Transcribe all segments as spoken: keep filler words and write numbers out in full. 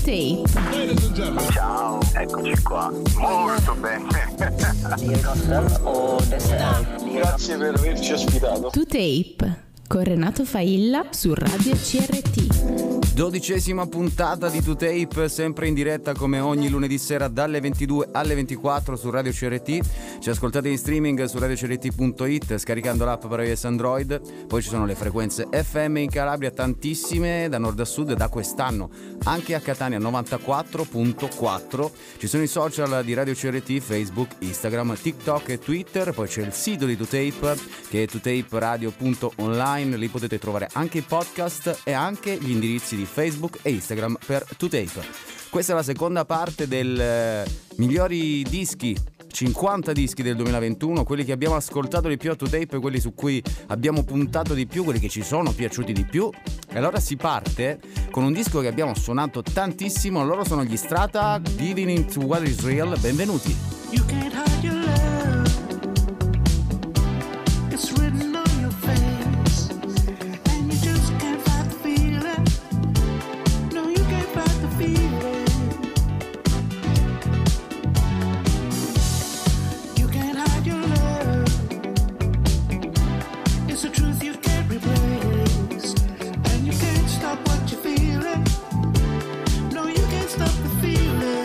Tape. Ciao, eccoci qua. Molto bene. Grazie per averci ospitato. To Tape con Renato Failla su Radio C R T. Dodicesima puntata di To Tape, sempre in diretta come ogni lunedì sera dalle ventidue alle ventiquattro su Radio C R T. Ci ascoltate in streaming su radio c r t punto i t scaricando l'app per iOS Android. Poi ci sono le frequenze F M in Calabria, tantissime da nord a sud, da quest'anno anche a Catania novantaquattro virgola quattro. Ci sono i social di Radio C R T, Facebook, Instagram, TikTok e Twitter. Poi c'è il sito di To Tape che è to tape radio punto online. Lì potete trovare anche i podcast e anche gli indirizzi di Facebook e Instagram per To Tape. Questa è la seconda parte del eh, migliori dischi, cinquanta dischi del duemilaventuno, quelli che abbiamo ascoltato di più a To Tape, quelli su cui abbiamo puntato di più, quelli che ci sono piaciuti di più. E allora si parte con un disco che abbiamo suonato tantissimo. Loro sono gli Strata, Giving Into What Is Real. Benvenuti. You can't hide your love. It's written on your face, and you just can't fight the feeling. No, you can't fight the feeling. You can't hide your love. It's a truth you can't replace, and you can't stop what you're feeling. No, you can't stop the feeling.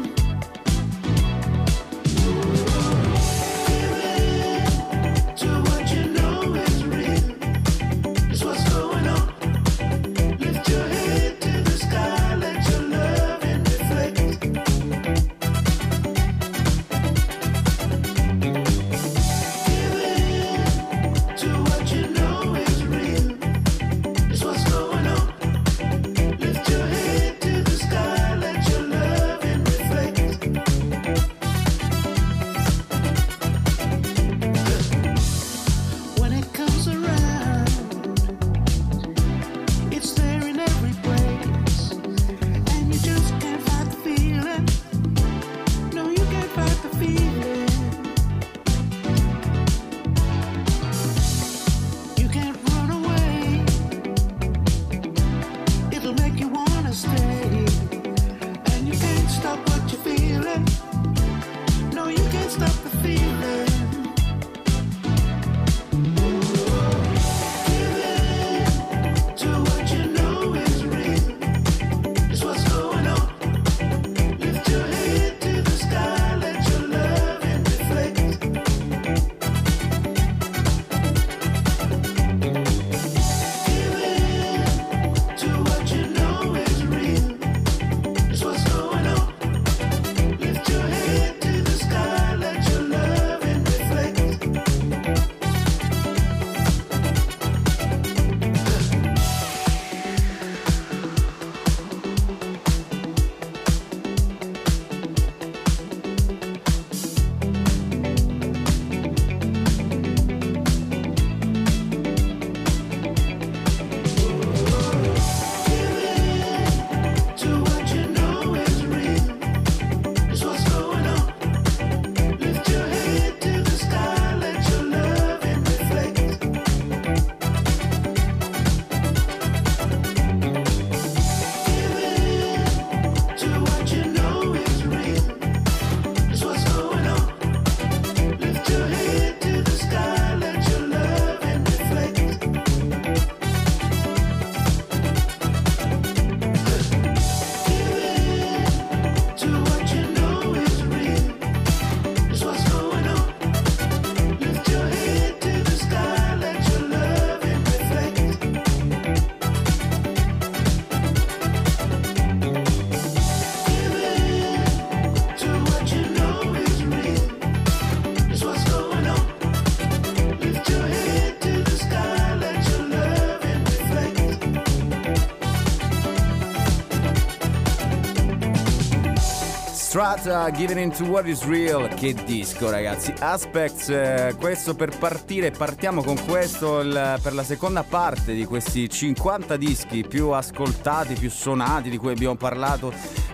Strata, Giving Into What Is Real. Che disco, ragazzi. Aspects, eh, questo per partire. Partiamo con questo il, per la seconda parte di questi cinquanta dischi più ascoltati, più suonati, di cui abbiamo parlato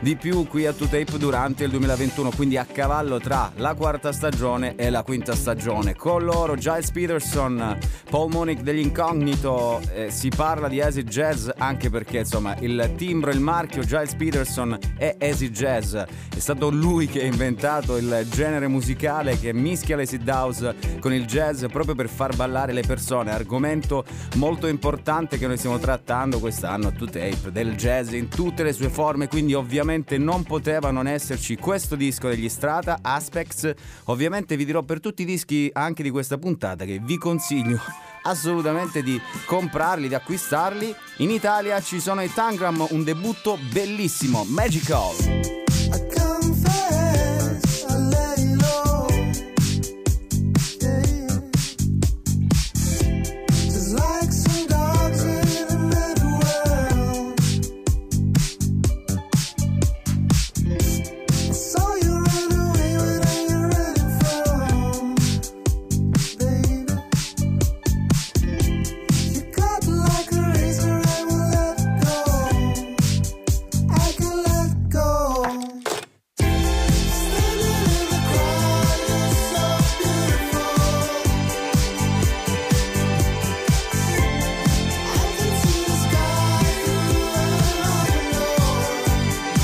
di più qui a To Tape durante il duemilaventuno, quindi a cavallo tra la quarta stagione e la quinta stagione. Con loro Giles Peterson, Paul Monik degli Incognito, eh, si parla di acid jazz anche perché insomma il timbro, il marchio Giles Peterson è acid jazz, è stato lui che ha inventato il genere musicale che mischia l'acid house con il jazz proprio per far ballare le persone, argomento molto importante che noi stiamo trattando quest'anno a To Tape, del jazz in tutte le sue forme, quindi ovviamente non poteva non esserci questo disco degli Strata, Aspects. Ovviamente vi dirò per tutti i dischi anche di questa puntata che vi consiglio assolutamente di comprarli, di acquistarli. In Italia ci sono i Tangram, un debutto bellissimo, Magical. I confess, I let it go. Yeah. Just like some dogs in another world. I saw you run away, where are you running from, baby? You cut like a razor, I will let go. I can let go. Standing in the crowd, you're so beautiful. I can see the sky through an open door.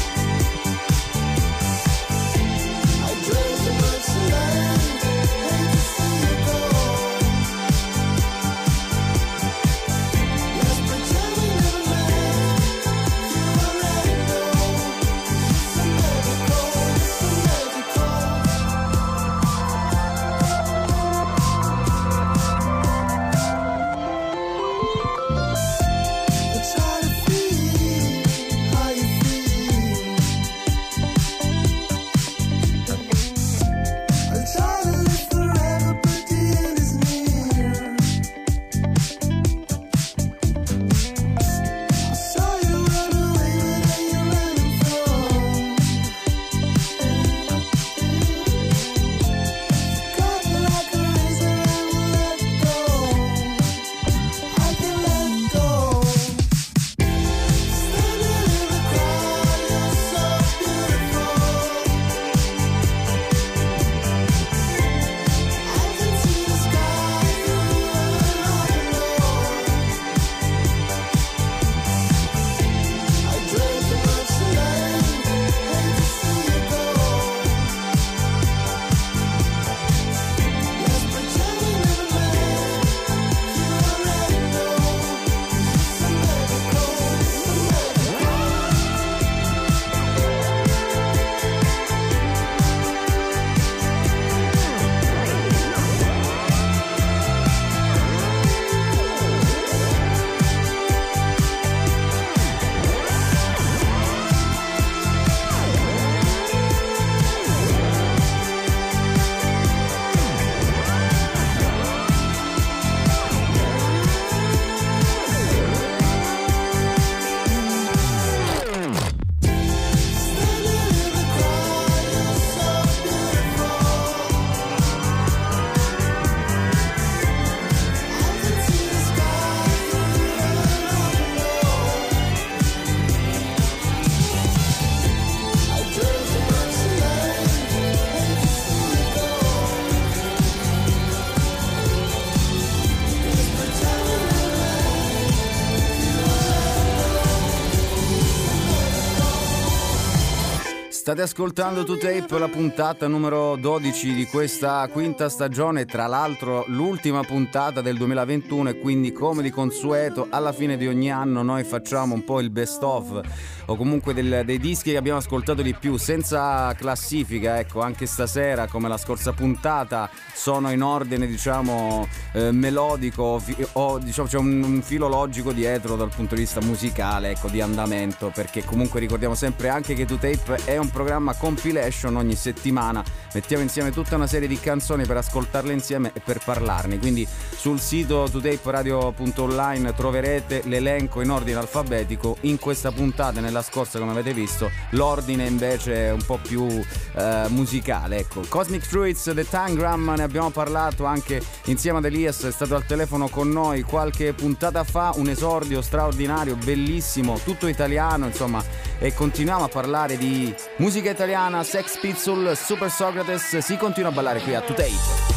I drink too much tonight, hate to see you go. Let's pretend we never met. You already know. It's a magical, it's a magical. It's hard to feel how you feel. I'll try to live forever, but the end is near. I saw you run away, where are you running from? Cut like a razor, I will let go. I can let go. Standing in the crowd, you're so beautiful. I can see the sky through an open door. I drink too much tonight, hate to see you go. Let's pretend we never met. You already know. It's a magical, it's a magical. Standing in the crowd, you're so beautiful. I can see the sky through an open door. I drink too much tonight, hate to see you go. Let's pretend we never met. State ascoltando To Tape, la puntata numero dodici di questa quinta stagione, tra l'altro l'ultima puntata del duemilaventuno, e quindi come di consueto alla fine di ogni anno noi facciamo un po' il best of, o comunque del- dei dischi che abbiamo ascoltato di più, senza classifica, ecco. Anche stasera, come la scorsa puntata, sono in ordine, diciamo, eh, melodico, fi- o diciamo c'è un, un filo logico dietro dal punto di vista musicale, ecco, di andamento, perché comunque ricordiamo sempre anche che To Tape è un programma Compilation. Ogni settimana mettiamo insieme tutta una serie di canzoni per ascoltarle insieme e per parlarne, quindi sul sito two tape radio punto online troverete l'elenco in ordine alfabetico. In questa puntata e nella scorsa, come avete visto, l'ordine invece è un po' più eh, musicale, ecco. Cosmic Fruits, The Tangram, ne abbiamo parlato anche insieme ad Elias, è stato al telefono con noi qualche puntata fa, un esordio straordinario, bellissimo, tutto italiano, insomma, e continuiamo a parlare di musica italiana, Sex Pistols, Super Socrates, si continua a ballare qui a two tape.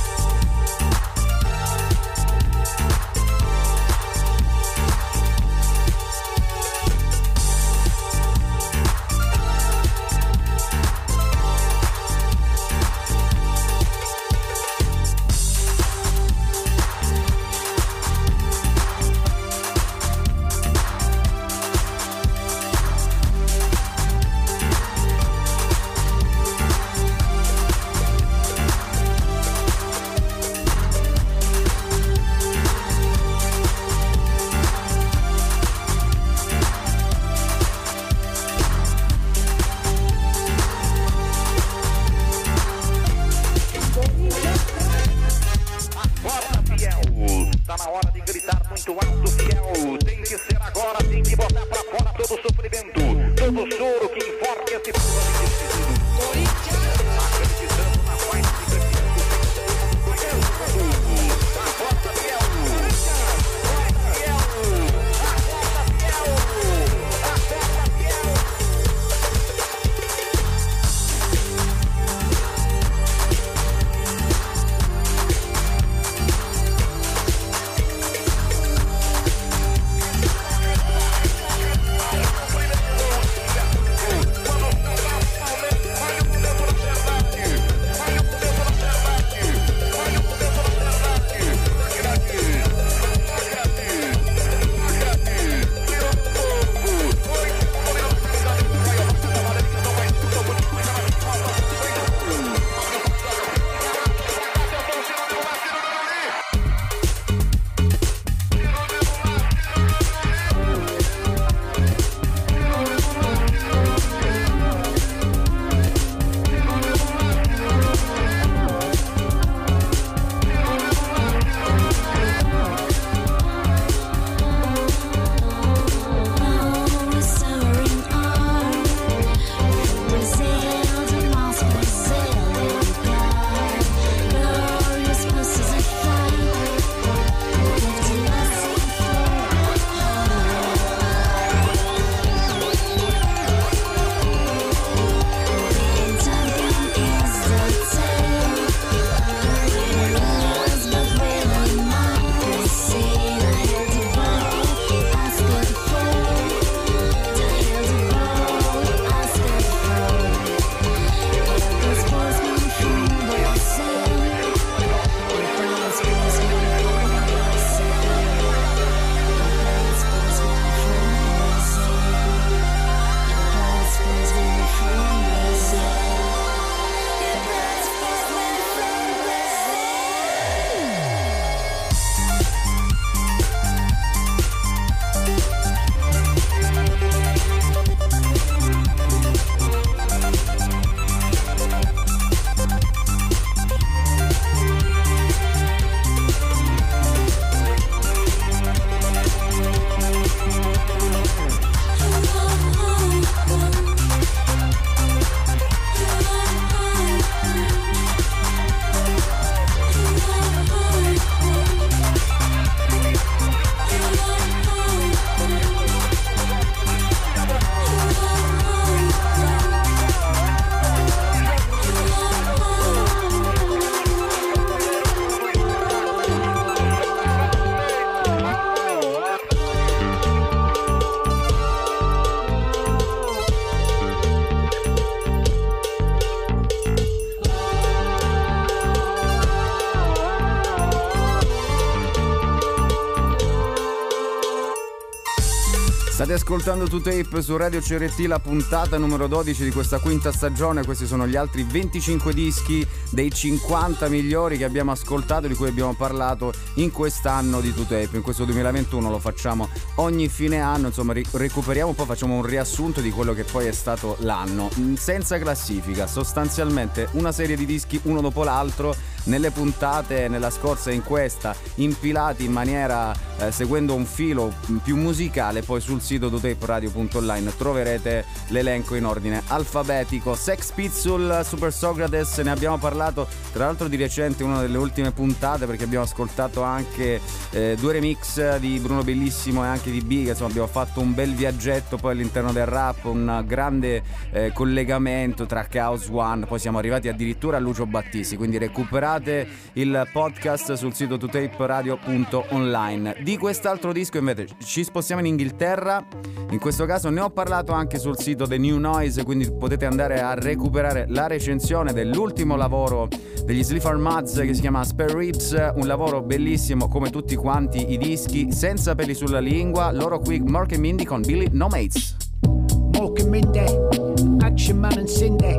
State ascoltando To Tape su Radio C R T, la puntata numero dodici di questa quinta stagione. Questi sono gli altri venticinque dischi dei cinquanta migliori che abbiamo ascoltato, di cui abbiamo parlato in quest'anno di To Tape. In questo duemilaventuno lo facciamo ogni fine anno, insomma ri- recuperiamo un po', facciamo un riassunto di quello che poi è stato l'anno, senza classifica, sostanzialmente una serie di dischi uno dopo l'altro, nelle puntate, nella scorsa e in questa, impilati in maniera eh, seguendo un filo più musicale. Poi sul sito to tape radio punto online troverete l'elenco in ordine alfabetico. Sex Pistols, Super Socrates, ne abbiamo parlato tra l'altro di recente, una delle ultime puntate, perché abbiamo ascoltato anche eh, due remix di Bruno Bellissimo e anche di Big. Insomma abbiamo fatto un bel viaggetto poi all'interno del rap, un grande eh, collegamento tra Chaos One, poi siamo arrivati addirittura a Lucio Battisti, quindi recuperate il podcast sul sito to tape radio punto online. Di quest'altro disco invece ci spostiamo in Inghilterra, in questo caso ne ho parlato anche sul sito The New Noise, quindi potete andare a recuperare la recensione dell'ultimo lavoro degli Sleaford Mods che si chiama Spare Ribs, un lavoro bellissimo come tutti quanti i dischi, senza peli sulla lingua. Loro qui Mork and Mindy con Billy No Mates. Mork and Mindy, Action Man and Cindy,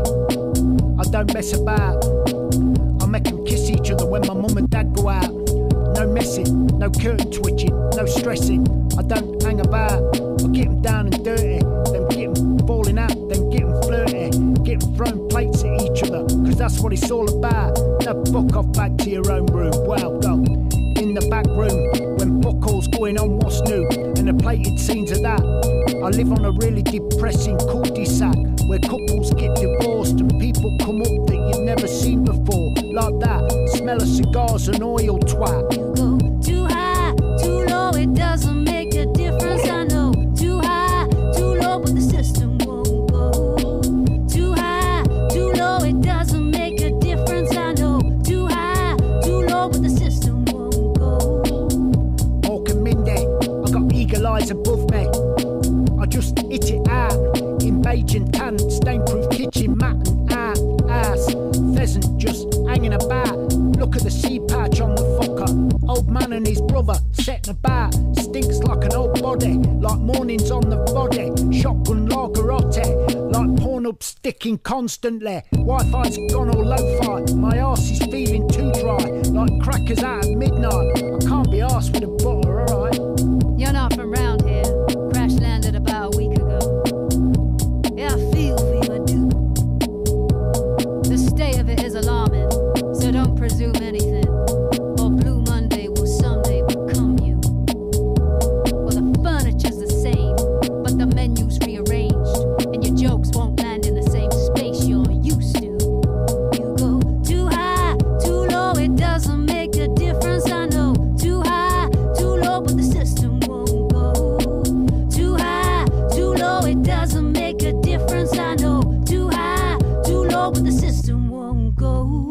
I don't mess about, I make them kiss each other when my mum and dad go out. No messing, no curtain twitching, no stressing, I don't hang about, I get them down and dirty, then get them falling out, then get them flirty, get them throwing plates at each other, cause that's what it's all about. Now fuck off back to your own room, well go in the back room, when buckles going on what's new, and the plated scenes of that. I live on a really depressing cul-de-sac, where couples get divorced and people come up that you've never seen before, like that, smell of cigars and oil twat. You go too high, too low, it doesn't make a difference, I know. Too high, too low, but the system won't go. Too high, too low, it doesn't make a difference, I know. Too high, too low, but the system won't go. Mork and Mindy, I got eagle eyes above me, I just hit it out, in beige and tan, stain-proof kitchen mat and out, ass, pheasant just hanging about. Look at the sea patch on the fucker, old man and his brother setting about, stinks like an old body, like mornings on the body, shotgun lagerotte, like porn up sticking constantly, Wi-Fi's gone all lo-fi, my arse is feeling too dry, like crackers out at midnight, I can't be arsed with a butter, alright? You're not from round here, crash landed about a week ago. Yeah, I feel for you, I do. The state of it is alarming, so don't presume anything, or Blue Monday will someday become you. Well, the furniture's the same, but the menu's rearranged, and your jokes won't land in the same space you're used to. You go too high, too low, it doesn't make a difference, I know. Too high, too low, but the system won't go. Too high, too low, it doesn't make a difference, I know. Too high, too low, but the system won't go.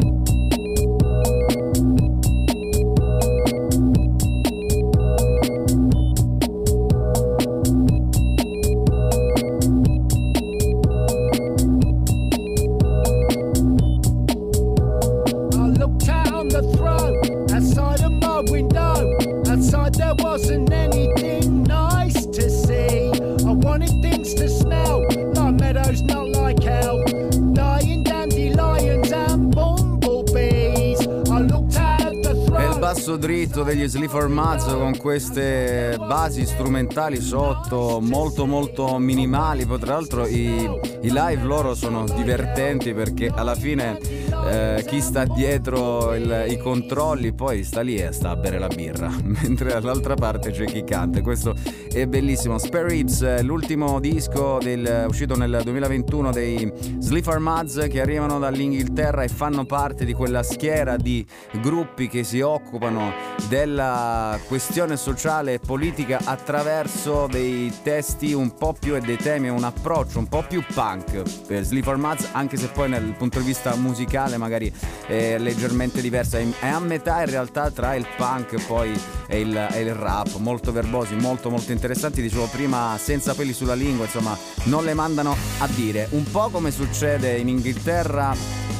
I looked out on the throne, outside of my window. Outside there wasn't anything nice to see. I wanted things to smell like meadows, not like hell. Dying dandelions and bumblebees. I looked out at the E il throne. basso dritto degli Sleaford Mods con queste basi strumentali sotto molto molto minimali. Poi tra l'altro i, i live loro sono divertenti, perché alla fine eh, chi sta dietro il, i controlli poi sta lì e sta a bere la birra, mentre dall'altra parte c'è chi canta. Questo è bellissimo. Spare Ribs, l'ultimo disco del, uscito nel duemilaventuno dei Sleaford Mods, che arrivano dall'Inghilterra e fanno parte di quella schiera di gruppi che si occupano della questione sociale e politica attraverso dei testi un po' più e dei temi, un approccio un po' più punk per Sleaford Mods, anche se poi dal punto di vista musicale magari è leggermente diversa, è a metà in realtà tra il punk poi e il, e il rap, molto verbosi, molto molto interessanti. Dicevo prima, senza peli sulla lingua, insomma non le mandano a dire, un po' come succede in Inghilterra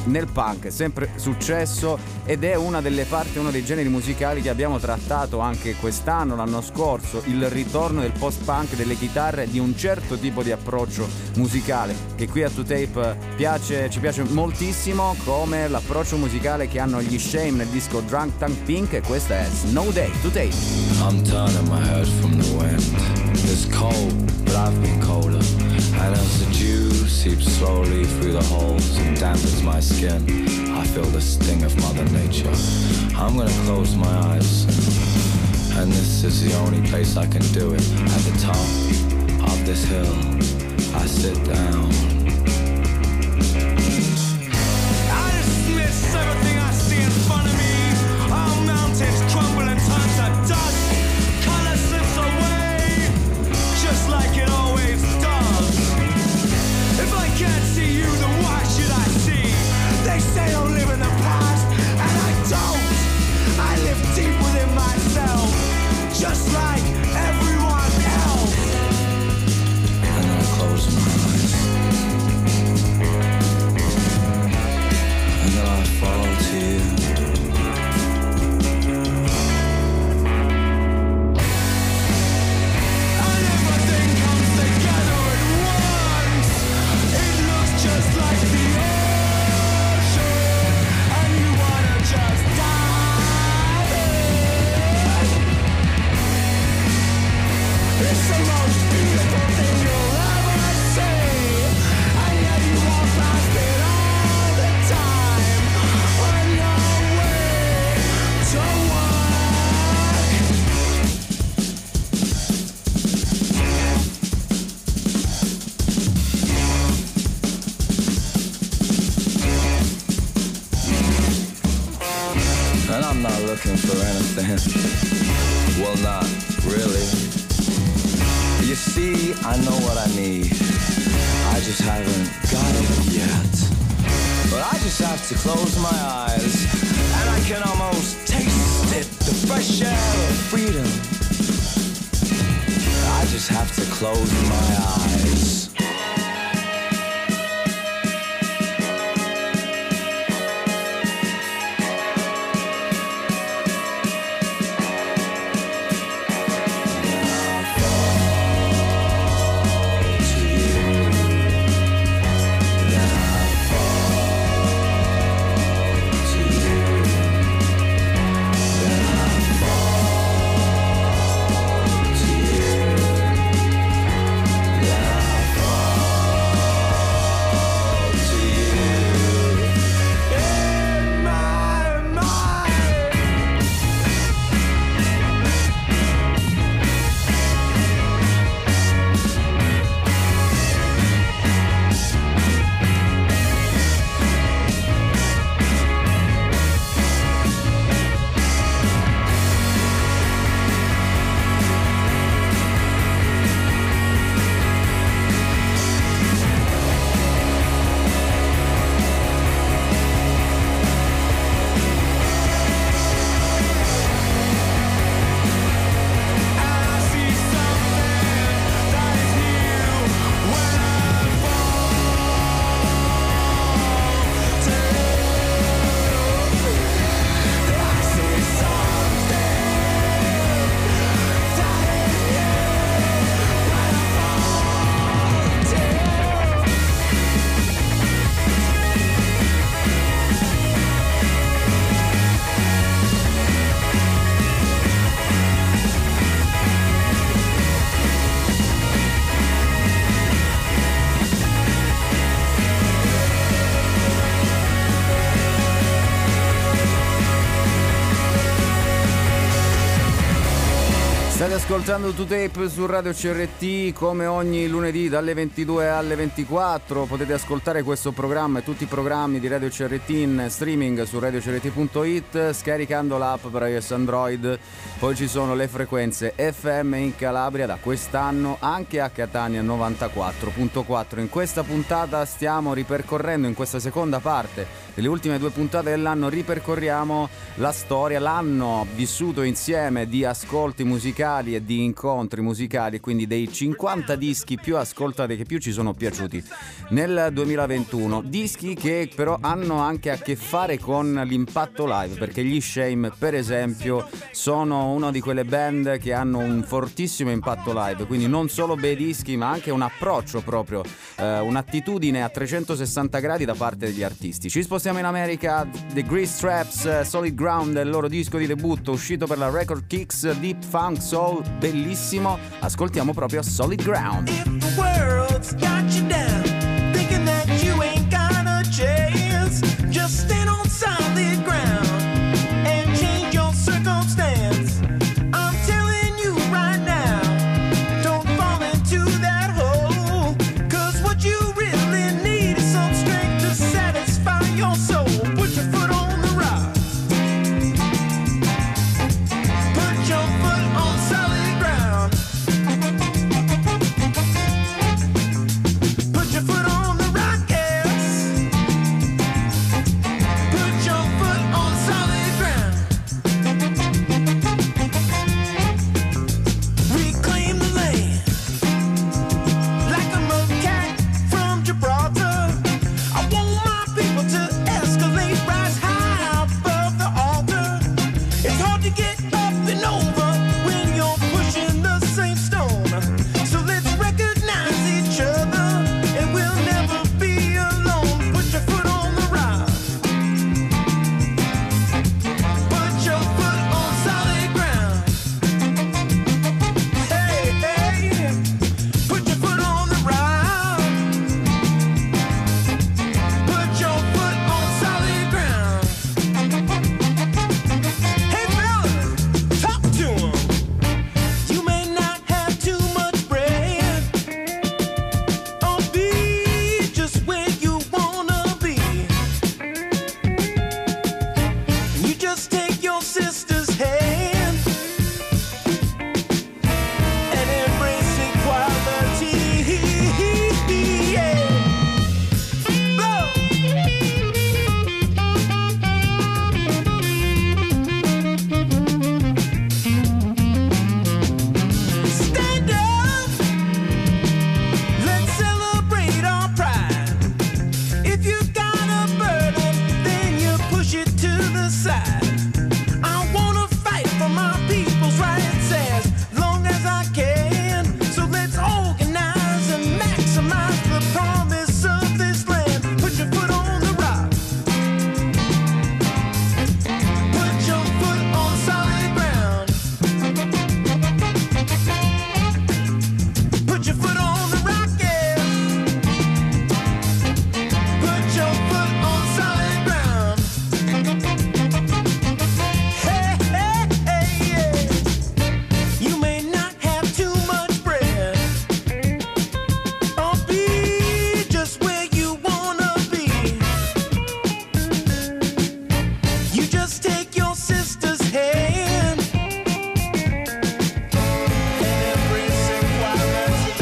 nel punk è sempre successo ed è una delle parti, uno dei generi musicali che abbiamo trattato anche quest'anno, l'anno scorso, il ritorno del post-punk, delle chitarre, di un certo tipo di approccio musicale che qui a To Tape piace, ci piace moltissimo, come l'approccio musicale che hanno gli Shame nel disco Drunk Tank Pink, e questa è Snow Day, To Tape. I'm turning my head from the wind. It's cold, but I've been colder. And as the dew seeps slowly through the holes and dampens my skin, I feel the sting of Mother Nature. I'm gonna close my eyes, and this is the only place I can do it. At the top of this hill, I sit down. I dismiss everything I see in front of me. All mountains crumble and turn to dust. Color slips away, just like it always does. If I can't see you, then why should I see? They say don't live in the past, and I don't. I live deep within myself, just like everyone else. And then I close my eyes, and then I fall to you. Just like the ocean, and you wanna just dive in. It's the most beautiful thing you'll ever see, and yet you walk past it all the time on your way to work. And I'm not looking for anything. Well, not really. You see, I know what I need. I just haven't got it yet. But I just have to close my eyes, and I can almost taste it, the fresh air of freedom. I just have to close my eyes. State ascoltando To Tape su Radio C R T come ogni lunedì dalle ventidue alle ventiquattro. Potete ascoltare questo programma e tutti i programmi di Radio C R T in streaming su radio c r t punto i t scaricando l'app per iOS Android. Poi ci sono le frequenze F M in Calabria da quest'anno, anche a Catania novantaquattro virgola quattro. In questa puntata stiamo ripercorrendo, in questa seconda parte delle ultime due puntate dell'anno, ripercorriamo la storia, l'anno vissuto insieme di ascolti musicali e serie di incontri musicali, quindi dei cinquanta dischi più ascoltati che più ci sono piaciuti nel duemilaventuno, dischi che però hanno anche a che fare con l'impatto live, perché gli Shame per esempio sono una di quelle band che hanno un fortissimo impatto live, quindi non solo bei dischi ma anche un approccio proprio, eh, un'attitudine a trecentosessanta gradi da parte degli artisti. Ci spostiamo in America. The Grease Traps, Solid Ground, il loro disco di debutto uscito per la Record Kicks, Deep Funk Soul, bellissimo. Ascoltiamo proprio Solid Ground. If the world's got you down, thinking that you ain't got a chance, just stand on solid ground and change your circumstance. I'm telling you right now, don't fall into that hole, 'cause what you really need is some strength to satisfy your soul. Put your foot on the rock, put your foot on solid ground. Put your foot on the rock, yes. Put your foot on solid ground. Reclaim the land like a macaque from Gibraltar. I want my people to escalate, rise high above the altar. It's hard to get up and over when you're pushing the same stone. So let's recognize each other and we'll never be alone. Put your foot on the rock. Put your foot on solid ground. Hey, hey. Put your foot on the rock. Put your foot on solid ground. Hey, fellas, talk to 'em. You may not have too much bread, or be just where you wanna be. You just take your sister's hand and embrace equality. Yeah. Blow. Stand up. Let's celebrate our pride. If you got a burden, then you push it to the side. I wanna fight for my people's rights as long as I can. So let's organize and maximize the promise of this land. Put your foot on the rock. Put your foot on solid ground. Put your foot on the rock, yeah. Put your foot on solid ground. Hey, hey, hey, yeah. You may not have too much bread, or be just where you wanna be. You just take your sister's hand and embrace equality.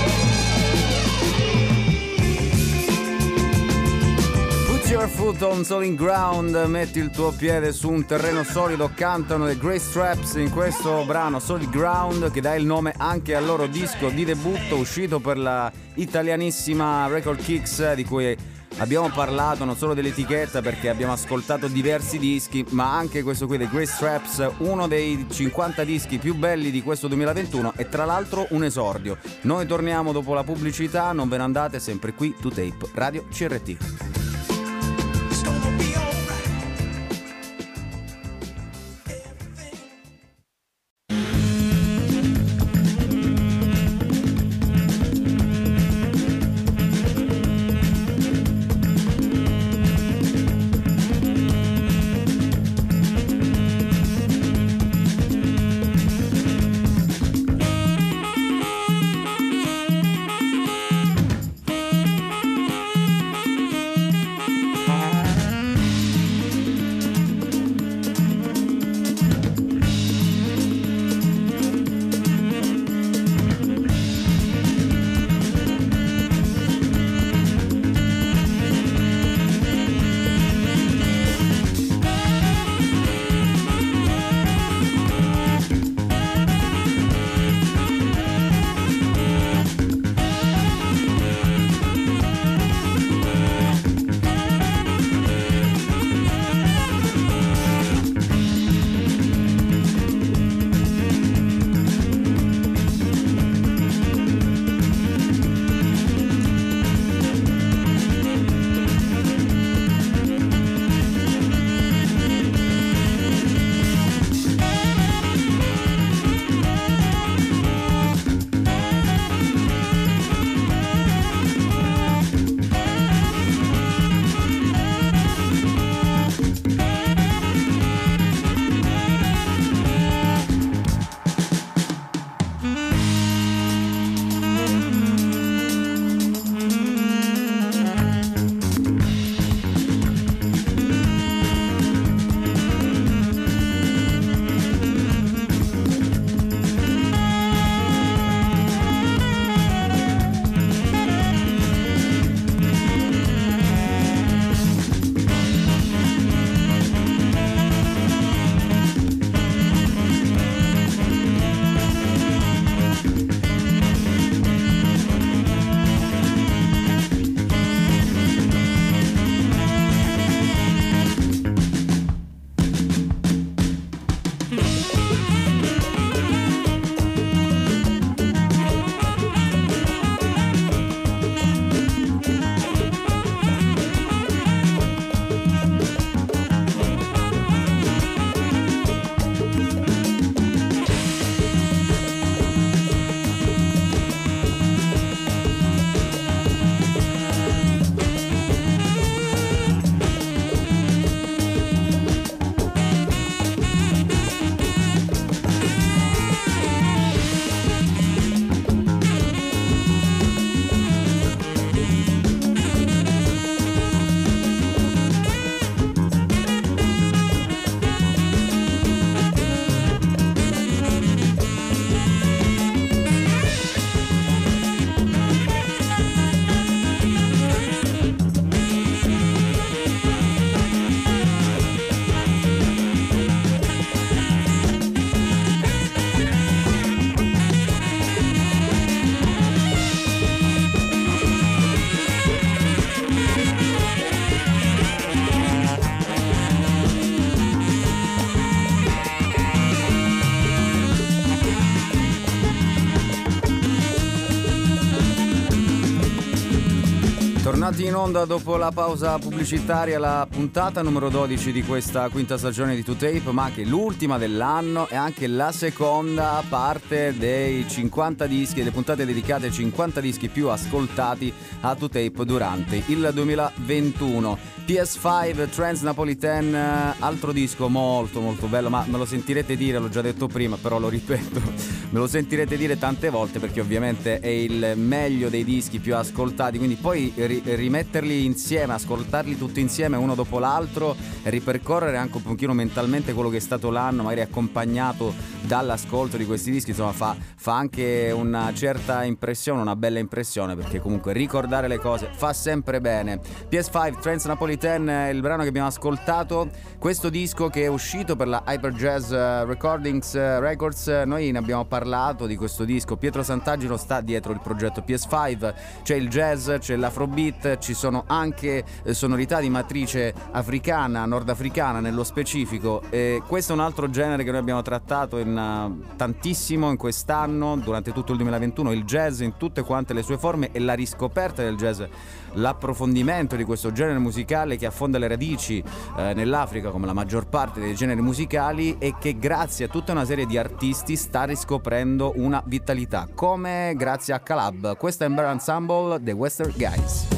Put your foot on solid ground, metti il tuo piede su un terreno solido, cantano le Grease Traps in questo brano Solid Ground, che dà il nome anche al loro disco di debutto uscito per la italianissima Record Kicks, di cui abbiamo parlato non solo dell'etichetta perché abbiamo ascoltato diversi dischi, ma anche questo qui, The Grease Traps, uno dei cinquanta dischi più belli di questo duemilaventuno e tra l'altro un esordio. Noi torniamo dopo la pubblicità, non ve ne andate, sempre qui To Tape Radio C R T. It's gonna be alright. Tornati in onda dopo la pausa pubblicitaria, la puntata numero dodici di questa quinta stagione di two tape, ma anche l'ultima dell'anno e anche la seconda parte dei cinquanta dischi, delle puntate dedicate ai cinquanta dischi più ascoltati a two tape durante il duemilaventuno. P S cinque Trans Napolitan, altro disco molto molto bello, ma me lo sentirete dire, l'ho già detto prima, però lo ripeto, me lo sentirete dire tante volte perché ovviamente è il meglio dei dischi più ascoltati, quindi poi ri- rimetterli insieme, ascoltarli tutti insieme uno dopo l'altro e ripercorrere anche un pochino mentalmente quello che è stato l'anno, magari accompagnato dall'ascolto di questi dischi, insomma fa, fa anche una certa impressione, una bella impressione, perché comunque ricordare le cose fa sempre bene. P S cinque Trans Napolitan è il brano che abbiamo ascoltato, questo disco che è uscito per la Hyper Jazz Recordings Records. Noi ne abbiamo parlato di questo disco, Pietro Sant'Agino sta dietro il progetto P S cinque, c'è il jazz, c'è l'afrobeat, ci sono anche sonorità di matrice africana, nordafricana nello specifico, e questo è un altro genere che noi abbiamo trattato in uh, tantissimo in quest'anno, durante tutto il duemilaventuno, il jazz in tutte quante le sue forme e la riscoperta del jazz, l'approfondimento di questo genere musicale che affonda le radici eh, nell'Africa come la maggior parte dei generi musicali e che grazie a tutta una serie di artisti sta riscoprendo una vitalità, come grazie a Calab. Questo è Ember Ensemble, The Western Guys.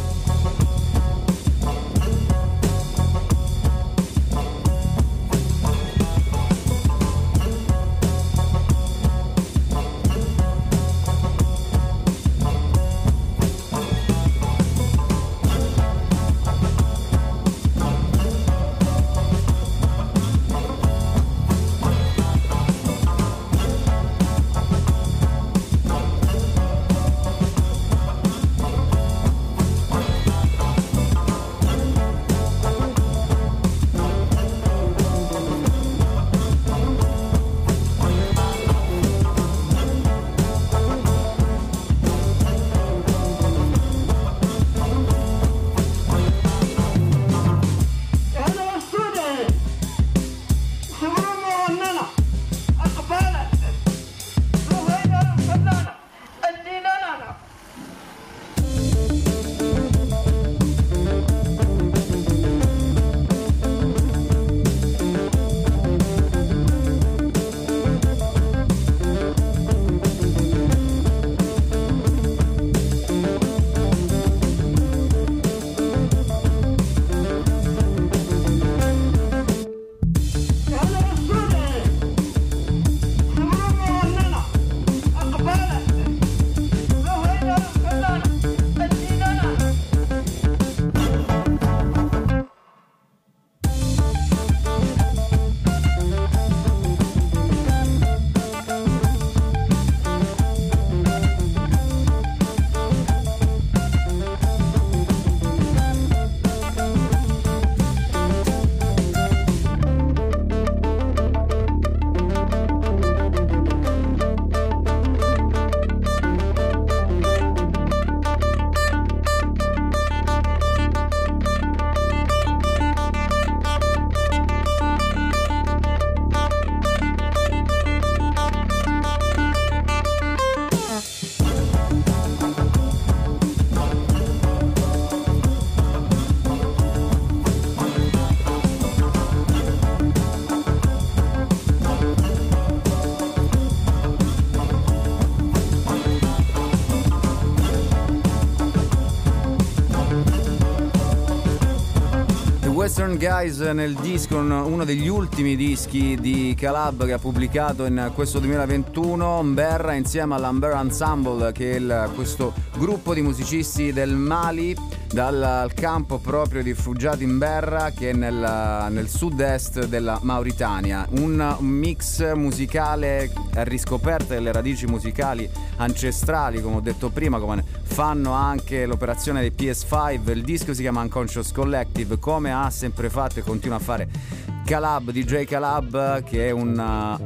Western Guys nel disco, uno degli ultimi dischi di Calab che ha pubblicato in questo duemilaventuno, Mberra insieme all'Amber Ensemble, che è il, questo gruppo di musicisti del Mali, dal campo proprio di rifugiati in Mberra, che è nel, nel sud-est della Mauritania. Un mix musicale a riscoperta delle radici musicali ancestrali, come ho detto prima, come fanno anche l'operazione dei P S cinque. Il disco si chiama Unconscious Collective, come ha sempre fatto e continua a fare Calab, D J Calab, che è un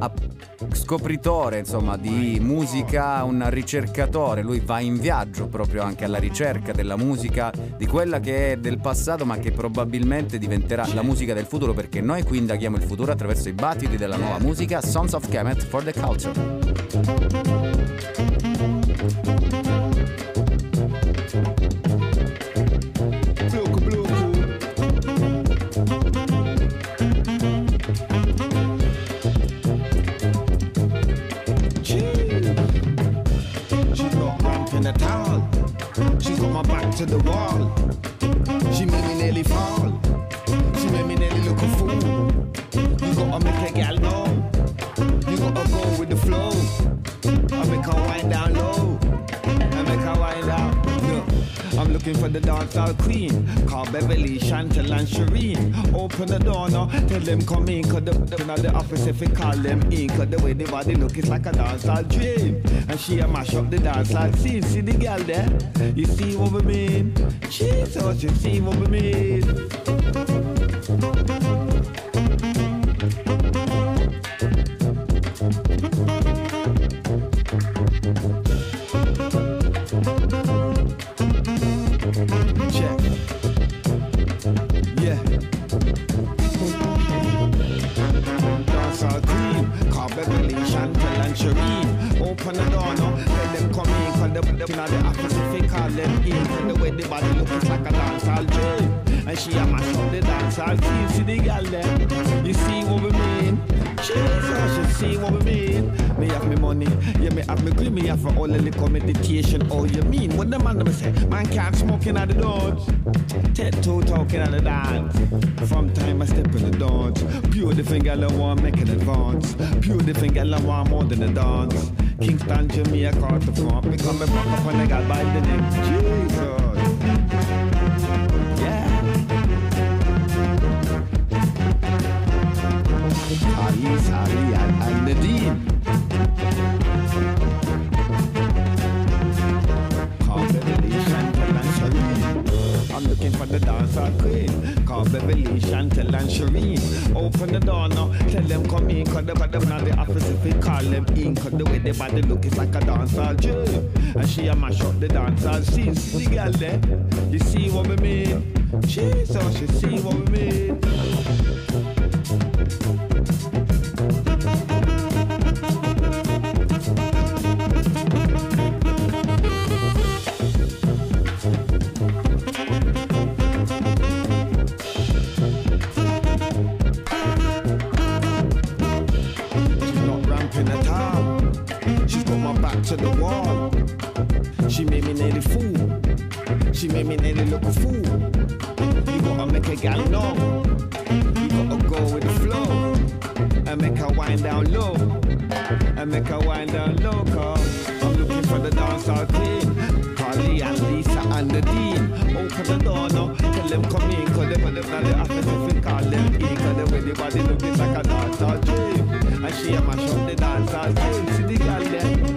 uh, scopritore, insomma, di musica, un ricercatore. Lui va in viaggio proprio anche alla ricerca della musica, di quella che è del passato ma che probabilmente diventerà la musica del futuro, perché noi qui indaghiamo il futuro attraverso i battiti della nuova musica. Sons of Kemet for the Culture. the wall. She made me nearly fall. She made me nearly look a fool. You gotta make a gal know. You gotta go with the flow. I make her wind down low. I make her wind down. No. I'm looking for the dancehall queen, called Beverly, Chantel and Shireen. Open the door now, tell them come in, cause the, the, the office if we call them in, cause the way the body look is like a dancehall dream. And she a mash up the dancehall scene. See the girl there? You see what we mean? Jesus, you see what we mean? Open the door now, let them come in, cause the, the, you know, the office if we call them in, cause the way the body looks like a dancehall dream. And she a mash up the dancehall scene. See the girl there? You see what we mean? Jesus, you see what we mean? Me have me money, yeah, me have me green, me have for all the liquor meditation. Oh, you mean? What the man them say? Man can't smoke in at the doors. Ted two talking at the dance. From time I step in the dance. Pure the finger I want make an advance. Pure the finger I want more than a dance. Kingston, Jamaica, across the front. Me come back up when I got by the name. Jesus. Yeah. Ali, Ali, and, and Nadine. Call Beverly, Chantel and Shireen. I'm looking for the dancehall queen. Call Beverly, Chantel and Shireen. Open the door now, tell them come in, cause the body not the office if we call them in, cause the way the body look is like a dancehall dream. And she a mash up the dancehall scene. See the girl there? You see what we mean? Jesus, you see what we mean? To the wall. She made me nearly fool. She made me nearly look a fool. You gotta make a gal know. You gotta go with the flow. And make her wind down low. And make her wind down low, cause I'm looking for the dancehall queen. Carly and Lisa and Nadine. Open the door now, tell them come in, cause they put them on the office if we call them in, cause the way the body look is like a dancehall dream. And she a mash up the dancehall scene. See the girl there?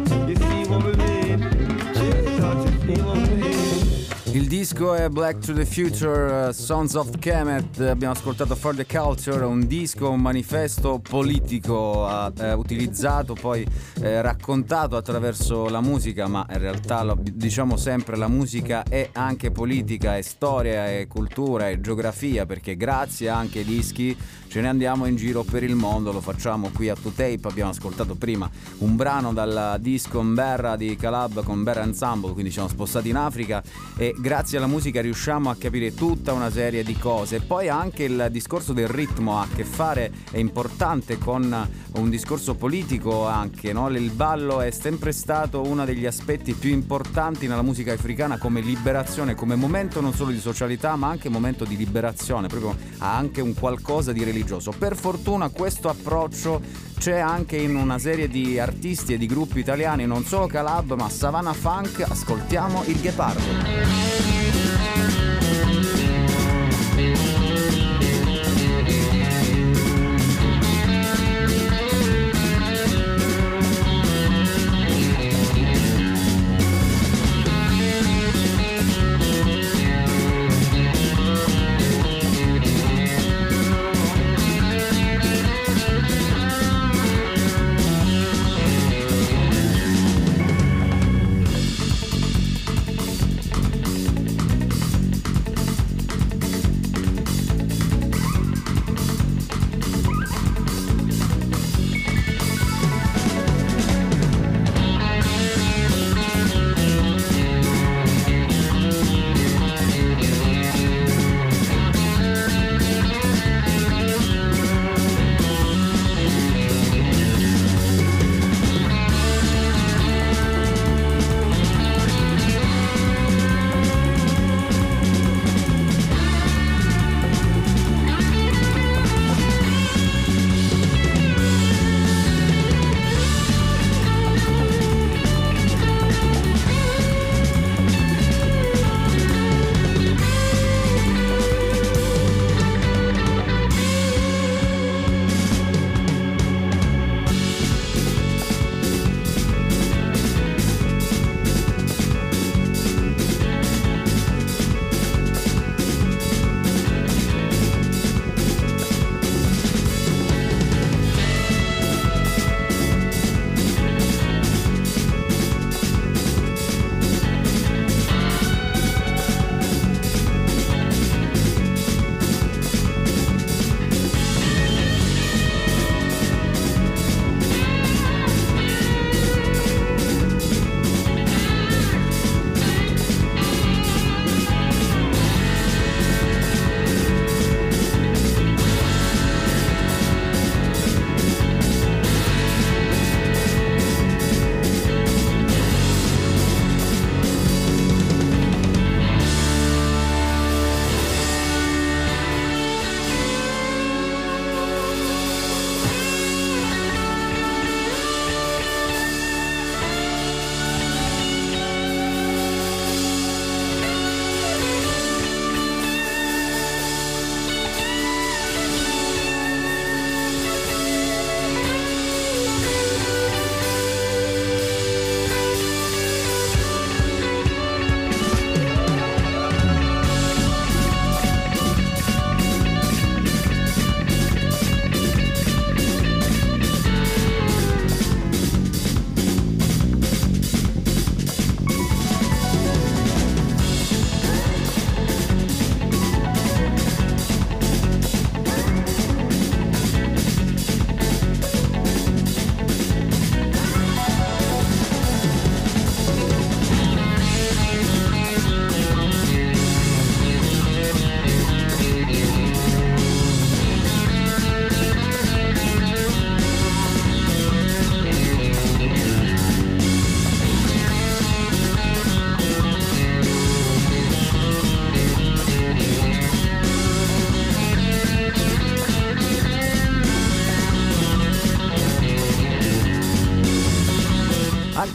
Il disco è Black to the Future, uh, Sons of Kemet. Abbiamo ascoltato For the Culture, un disco, un manifesto politico uh, eh, utilizzato, poi eh, raccontato attraverso la musica, ma in realtà lo diciamo sempre, la musica è anche politica, è storia, è cultura, è geografia, perché grazie anche ai dischi ce ne andiamo in giro per il mondo, lo facciamo qui a To Tape. Abbiamo ascoltato prima un brano dal disco Mberra di Calab con Mberra Ensemble, quindi ci siamo spostati in Africa e grazie alla musica riusciamo a capire tutta una serie di cose. Poi anche il discorso del ritmo ha a che fare, è importante, con un discorso politico anche, no? Il ballo è sempre stato uno degli aspetti più importanti nella musica africana come liberazione, come momento non solo di socialità ma anche momento di liberazione, proprio ha anche un qualcosa di religioso. Per fortuna questo approccio c'è anche in una serie di artisti e di gruppi italiani, non solo Calab ma Savannah Funk. Ascoltiamo il Ghepardo.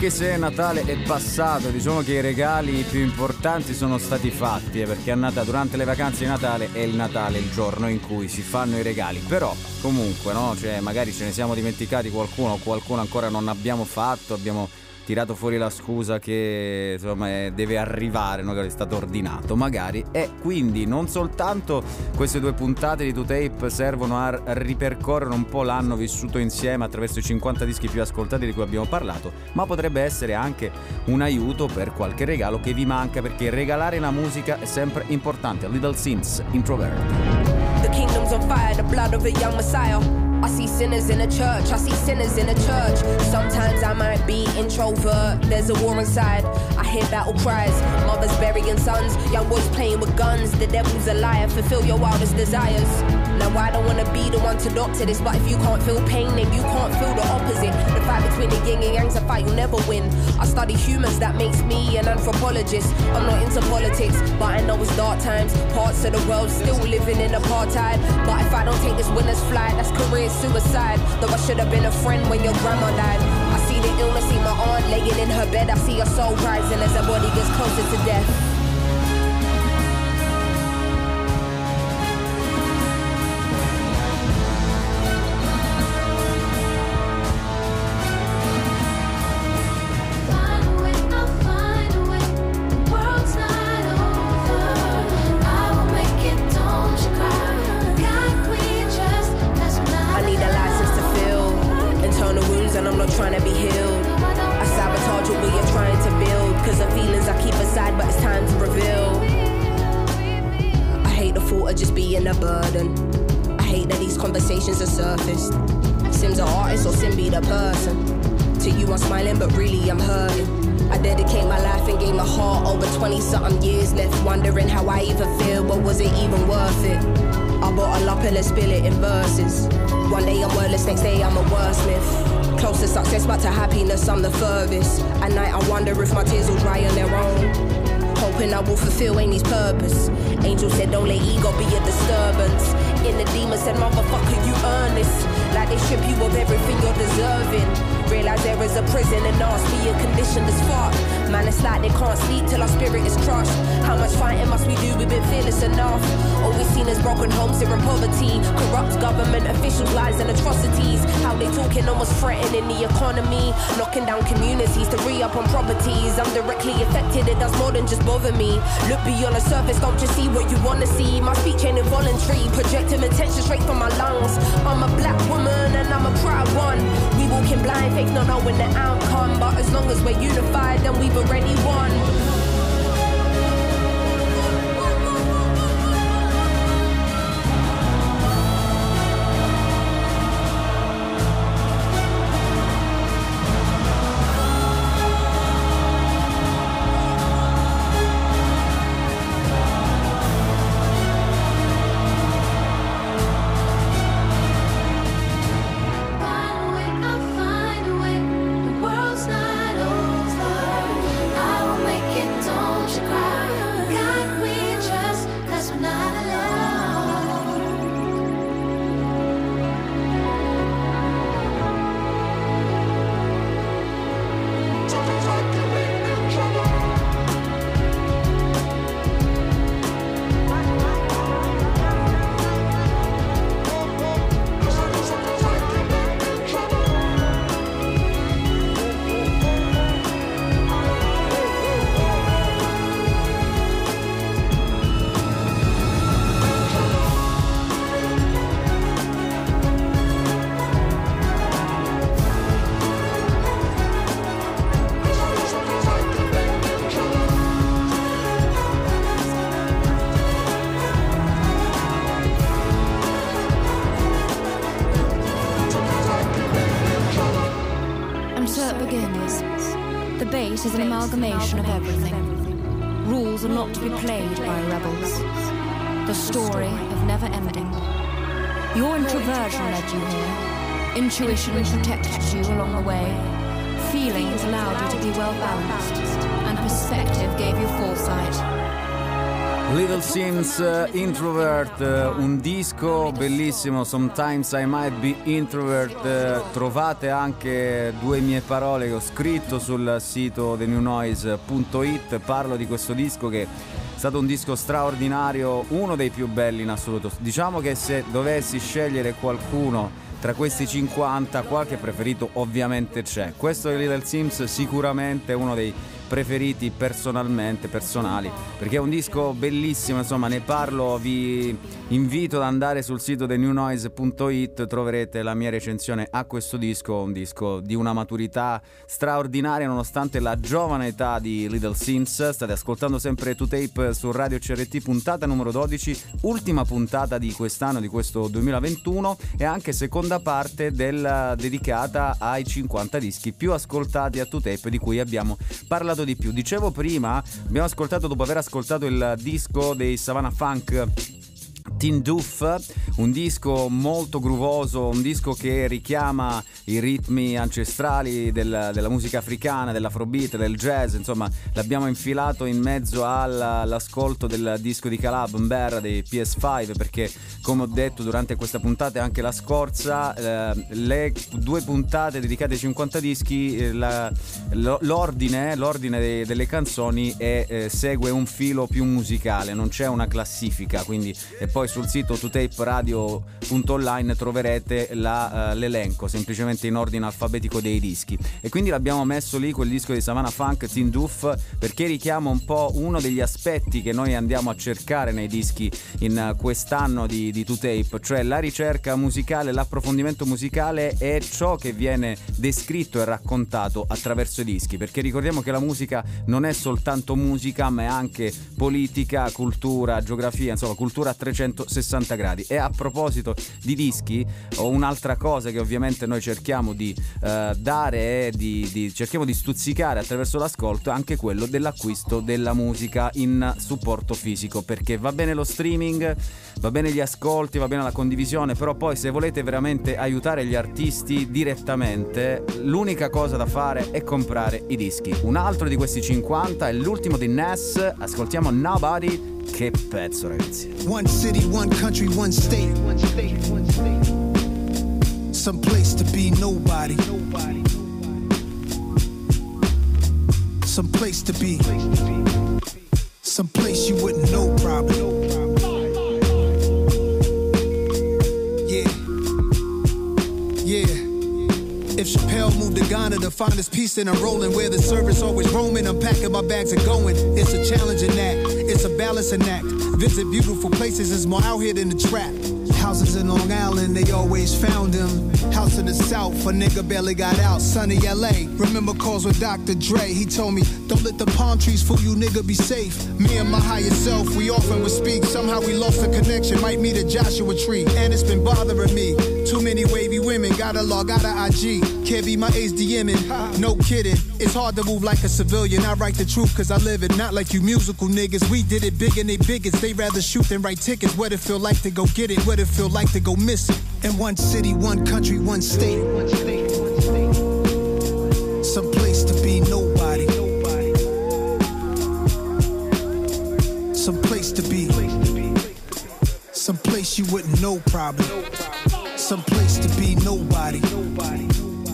anche se Natale è passato, diciamo che i regali più importanti sono stati fatti, eh, perché a Natale, durante le vacanze di Natale è il Natale il giorno in cui si fanno i regali. Però comunque, no, cioè magari ce ne siamo dimenticati qualcuno, o qualcuno ancora non abbiamo fatto, abbiamo tirato fuori la scusa che insomma è, deve arrivare, no, che è stato ordinato magari. E quindi non soltanto queste due puntate di two tape servono a ripercorrere un po' l'anno vissuto insieme attraverso i cinquanta dischi più ascoltati di cui abbiamo parlato, ma potrebbe essere anche un aiuto per qualche regalo che vi manca, perché regalare la musica è sempre importante. Little Sims, Introvert. The kingdom's on fire, the blood of a young Messiah. I see sinners in a church, I see sinners in a church. Sometimes I might be introvert, there's a war inside. I hear battle cries, mothers burying sons, young boys playing with guns. The devil's a liar, fulfill your wildest desires. Now I don't wanna be the one to doctor this, but if you can't feel pain, then you can't feel the opposite. The fight between the yin and yang's a fight you'll never win. I study humans, that makes me an anthropologist. I'm not into politics, but I know it's dark times. Parts of the world still living in apartheid. But if I don't take this winner's flight, that's career suicide. Though I should have been a friend when your grandma died. I see the illness, see my aunt laying in her bed. I see her soul rising as her body gets closer to death. Trying to be healed, I sabotage what we are trying to build. Cause the feelings I keep aside, but it's time to reveal. I hate the thought of just being a burden. I hate that these conversations are surfaced. Sim's an artist or Sim be the person. To you I'm smiling, but really I'm hurting. I dedicate my life and gave my heart over twenty something years. Left wondering how I even feel, but was it even worth it? I bottle up and let's spill it in verses. One day I'm wordless, next day I'm a wordsmith. Close to success, but to happiness I'm the furthest. At night I wonder if my tears will dry on their own. Hoping I will fulfill Amy's purpose. Angel said don't let ego be a disturbance. In the demon said motherfucker you earn this. Like they strip you of everything you're deserving. Realize there is a prison and nasty and conditioned as fuck. Man, it's like they can't sleep till our spirit is crushed. How much fighting must we do? We've been fearless enough. All we've seen is broken homes here in poverty. Corrupt government officials, lies and atrocities. How they talking almost threatening the economy. Knocking down communities to re-up on properties. I'm directly affected, it does more than just bother me. Look beyond the surface, don't just see what you wanna see. My speech ain't involuntary, projecting attention straight from my lungs. I'm a black woman and I'm a proud one. We walking blind, faith not knowing the outcome. But as long as we're unified, then we've already won. It is an amalgamation of everything. Rules are not to be played by rebels. The story of never ending. Your introversion led you here. Intuition protected you along the way. Feelings allowed you to be well balanced. And perspective gave you foresight. Little Sims, uh, Introvert, uh, un disco bellissimo, Sometimes I Might Be Introvert. Uh, trovate anche due mie parole che ho scritto sul sito the new noise punto it. Parlo di questo disco che è stato un disco straordinario, uno dei più belli in assoluto. Diciamo che se dovessi scegliere qualcuno tra questi cinquanta, qualche preferito ovviamente c'è. Questo di Little Sims sicuramente è uno dei preferiti personalmente, personali, perché è un disco bellissimo, insomma ne parlo, vi invito ad andare sul sito the new noise punto it, troverete la mia recensione a questo disco, un disco di una maturità straordinaria nonostante la giovane età di Little Sims. State ascoltando sempre two tape su Radio C R T, puntata numero dodici, ultima puntata di quest'anno, di questo duemilaventuno, e anche seconda parte del, dedicata ai cinquanta dischi più ascoltati a two tape, di cui abbiamo parlato di più. Dicevo prima, abbiamo ascoltato, dopo aver ascoltato il disco dei Savannah Funk, Teen Doof, un disco molto groovoso, un disco che richiama i ritmi ancestrali del, della musica africana, dell'afrobeat, del jazz, insomma l'abbiamo infilato in mezzo all'ascolto del disco di Calab Mberra dei P S cinque, perché come ho detto durante questa puntata e anche la scorsa, eh, le due puntate dedicate ai cinquanta dischi, eh, la, l'ordine, l'ordine de, delle canzoni è, eh, segue un filo più musicale, non c'è una classifica, quindi e poi sul sito two tape radio punto online troverete la, uh, l'elenco semplicemente in ordine alfabetico dei dischi, e quindi l'abbiamo messo lì quel disco di Savannah Funk, Teen Doof, perché richiama un po' uno degli aspetti che noi andiamo a cercare nei dischi in uh, quest'anno di, di two tape, cioè la ricerca musicale, l'approfondimento musicale è ciò che viene descritto e raccontato attraverso i dischi, perché ricordiamo che la musica non è soltanto musica, ma è anche politica, cultura, geografia, insomma cultura a trecentosessanta gradi. E a proposito di dischi, ho un'altra cosa che ovviamente noi cerchiamo di uh, dare e di, di, cerchiamo di stuzzicare attraverso l'ascolto, anche quello dell'acquisto della musica in supporto fisico, perché va bene lo streaming, va bene gli ascolti, va bene la condivisione, però poi se volete veramente aiutare gli artisti direttamente, l'unica cosa da fare è comprare i dischi. Un altro di questi cinquanta è l'ultimo di Ness, ascoltiamo Nobody. Che pezzo, ragazzi. One city, one country, one state. One state, one state. Some place to be nobody. Nobody. Some place to be. Some place you wouldn't know probably. Yeah. Yeah. If Chappelle moved to Ghana to find his peace, then I'm rolling where the service always roaming. I'm packing my bags and going. It's a challenging act. It's a balancing act. Visit beautiful places is more out here than the trap. Houses in Long Island, they always found him. House in the South, a nigga barely got out. Sunny L A, remember calls with Doctor Dre. He told me, don't let the palm trees fool you, nigga, be safe. Me and my higher self, we often would speak. Somehow we lost the connection, might meet a Joshua tree. And it's been bothering me. Too many wavy women, gotta log out of I G. Can't be my ace DMing, no kidding. It's hard to move like a civilian. I write the truth cause I live it, not like you musical niggas. We did it big and they bigots. They rather shoot than write tickets. What it feel like to go get it, what it feel like to go miss it. In one city, one country, one state. One state, one state. Some place to be nobody. Nobody. Some place to be. Some place you wouldn't know probably. Some place to be nobody. Nobody.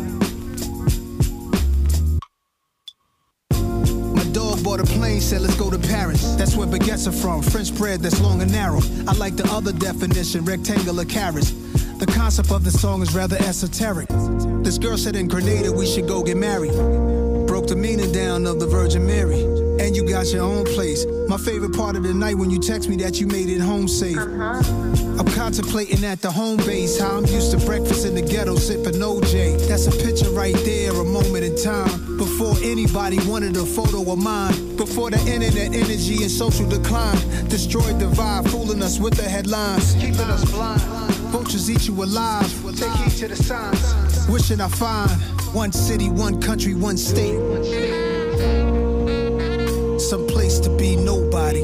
Bought a plane, said let's go to Paris. That's where baguettes are from, French bread that's long and narrow. I like the other definition, rectangular carrots. The concept of the song is rather esoteric. This girl said in Grenada we should go get married. Broke the meaning down of the Virgin Mary. And you got your own place. My favorite part of the night when you text me that you made it home safe. Uh-huh. I'm contemplating at the home base how I'm used to breakfast in the ghetto sipping O J. That's a picture right there, a moment in time. Before anybody wanted a photo of mine. Before the internet energy and social decline destroyed the vibe, fooling us with the headlines, keeping us blind. Vultures eat you alive. Take heed to the signs. Wishing I find one city, one country, one state. Some place to be nobody.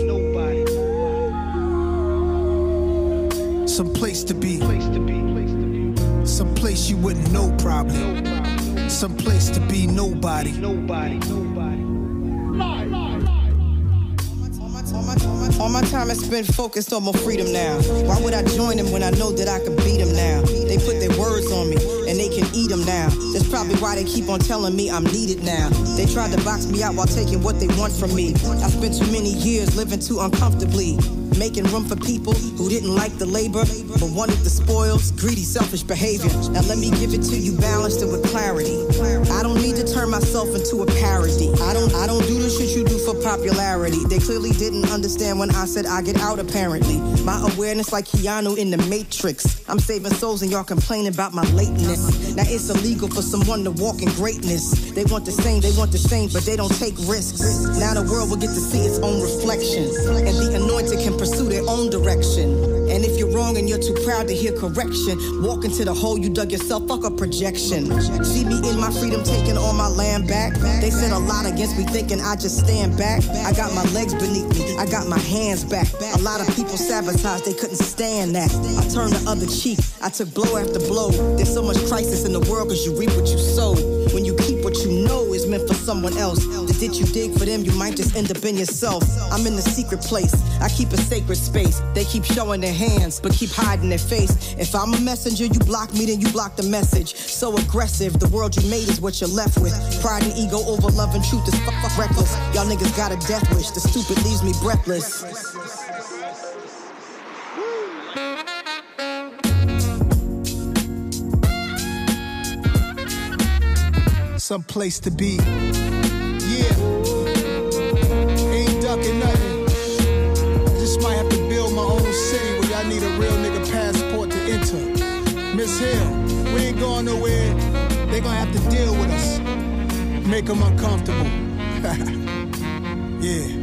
Some place to be. Some place you wouldn't know probably. Some place to be nobody. Nobody. Nobody. All my time is spent focused on my freedom now. Why would I join them when I know that I can beat them now? They put their words on me and they can eat them now. That's probably why they keep on telling me I'm needed now. They tried to box me out while taking what they want from me. I spent too many years living too uncomfortably, making room for people who didn't like the labor but wanted the spoils, greedy, selfish behavior. Now let me give it to you balanced and with clarity. I don't need to turn myself into a parody. I don't I don't do the shit you do for popularity. They clearly didn't understand when I said I get out apparently. My awareness like Keanu in the Matrix. I'm saving souls and y'all complaining about my lateness. Now it's illegal for someone to walk in greatness. They want the same, they want the same, but they don't take risks. Now the world will get to see its own reflection, and the anointed can pursue their own direction. And if you're wrong and you're too proud to hear correction, walk into the hole you dug yourself, fuck a projection. See me in my freedom taking all my land back. They said a lot against me thinking I just stand back. I got my legs beneath me, I got my hands back. A lot of people sabotaged, they couldn't stand that. I turned the other cheek, I took blow after blow. There's so much crisis in the world cause you reap what you sow. When you keep what you know is meant for someone else, the ditch you dig for them you might just end up in yourself. I'm in the secret place, I keep a sacred space. They keep showing their hands but keep hiding their face. If I'm a messenger, you block me, then you block the message. So aggressive, the world you made is what you're left with. Pride and ego over love and truth is fuck, fuck reckless. Y'all niggas got a death wish, the stupid leaves me breathless. Some place to be. Yeah. Ain't ducking nothing. I just might have to build my own city where y'all need a real nigga passport to enter. Miss Hill, we ain't going nowhere. They gonna have to deal with us. Make them uncomfortable. Yeah.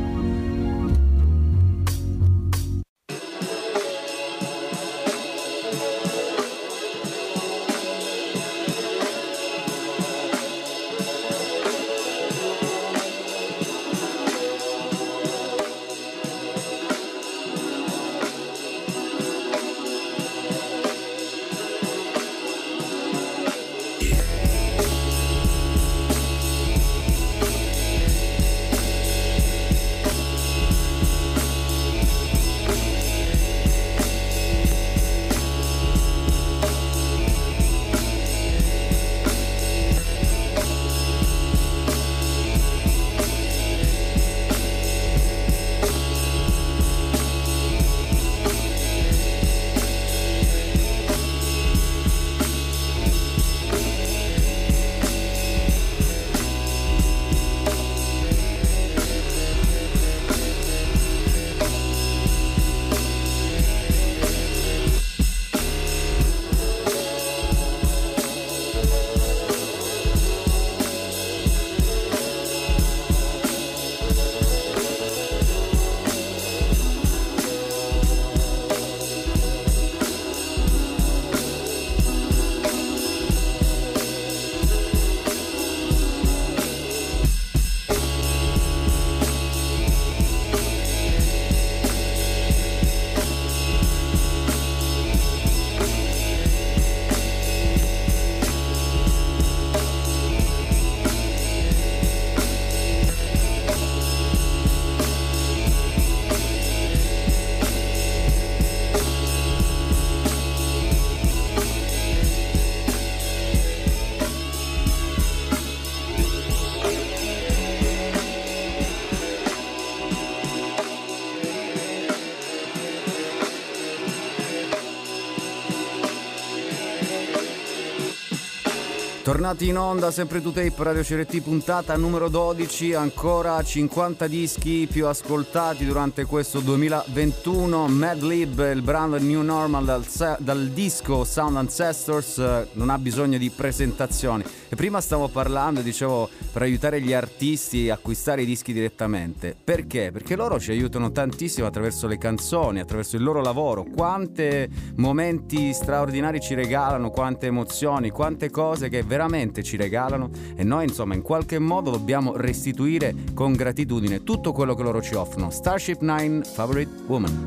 Tornati in onda, sempre to tape, Radio C R T, puntata numero dodici, ancora cinquanta dischi più ascoltati durante questo duemilaventuno. Mad Lib, il brano New Normal dal, dal disco Sound Ancestors, non ha bisogno di presentazioni. E prima stavo parlando, dicevo, per aiutare gli artisti a acquistare i dischi direttamente. Perché? Perché loro ci aiutano tantissimo attraverso le canzoni, attraverso il loro lavoro. Quante momenti straordinari ci regalano, quante emozioni, quante cose che veramente ci regalano, e noi insomma in qualche modo dobbiamo restituire con gratitudine tutto quello che loro ci offrono. Starship Nine, Favorite Woman.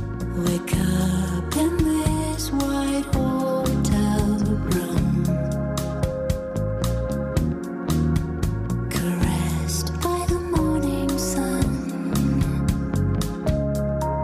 Wake up in this white hotel room, caressed by the morning sun.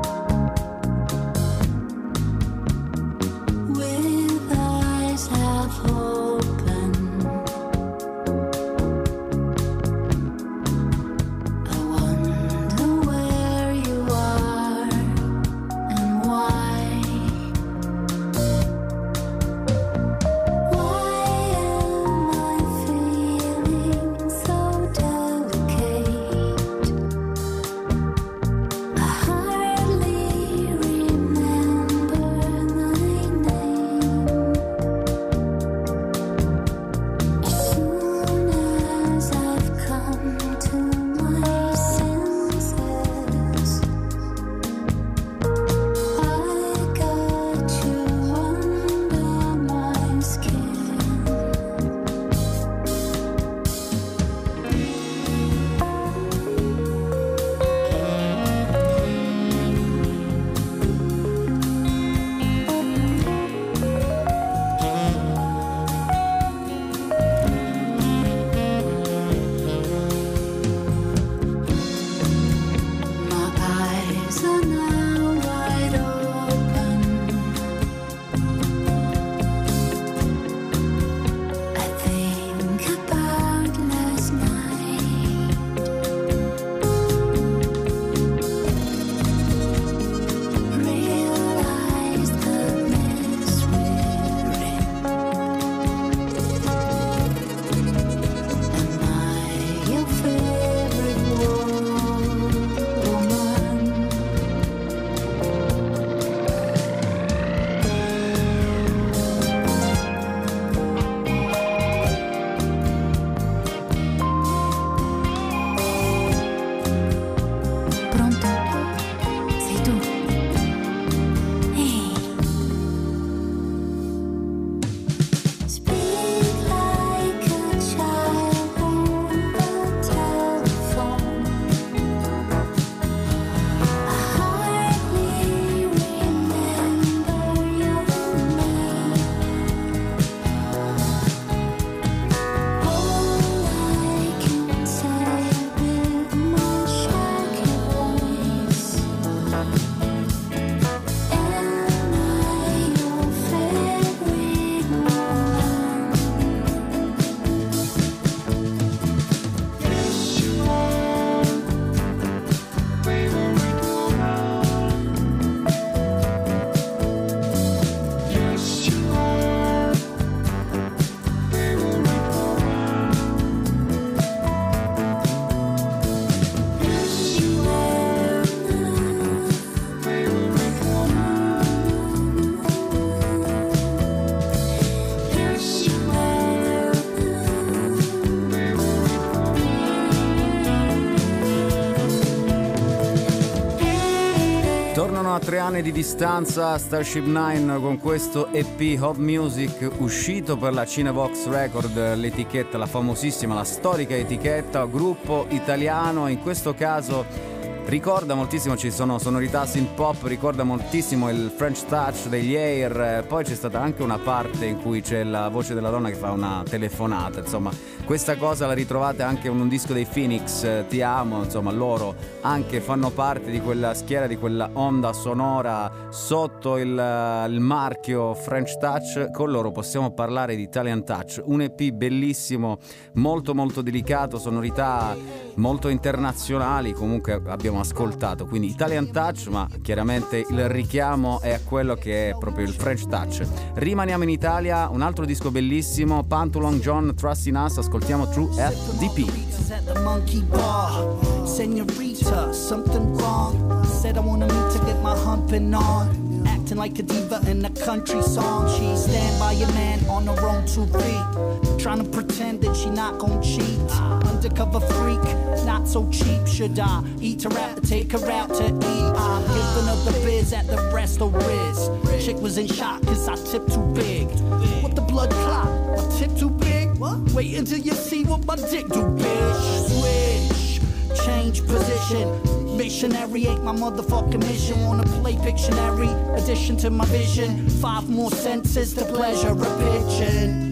tornano a tre anni di distanza Starship Nine con questo E P Hot Music uscito per la Cinebox Record, l'etichetta, la famosissima, la storica etichetta, gruppo italiano, in questo caso ricorda moltissimo, ci sono sonorità synth pop, ricorda moltissimo il French Touch degli Air, poi c'è stata anche una parte in cui c'è la voce della donna che fa una telefonata, insomma questa cosa la ritrovate anche in un disco dei Phoenix, Ti amo, insomma loro anche fanno parte di quella schiera, di quella onda sonora sotto il, il marchio French Touch. Con loro possiamo parlare di Italian Touch, un E P bellissimo, molto molto delicato, sonorità molto internazionali, comunque abbiamo ascoltato, quindi Italian Touch, ma chiaramente il richiamo è a quello che è proprio il French Touch. Rimaniamo in Italia, un altro disco bellissimo, Pantu Long John, Trust in Us, ascoltiamo True F D P. At the monkey bar, senorita, something wrong. Said I wanna meet to get my humping on. Acting like a diva in a country song. She stand by your man on her own two feet, trying to pretend that she not gon' cheat. Undercover freak, not so cheap. Should I eat her out or take her out to eat? I'm giving her the biz at the Resto Riz. Chick was in shock cause I tip too big. What the blood clot? My tip too big? What? Wait until you see what my dick do, bitch. Switch, change position. Missionary ain't my motherfucking mission. Wanna play Pictionary, addition to my vision. Five more senses to pleasure a pigeon.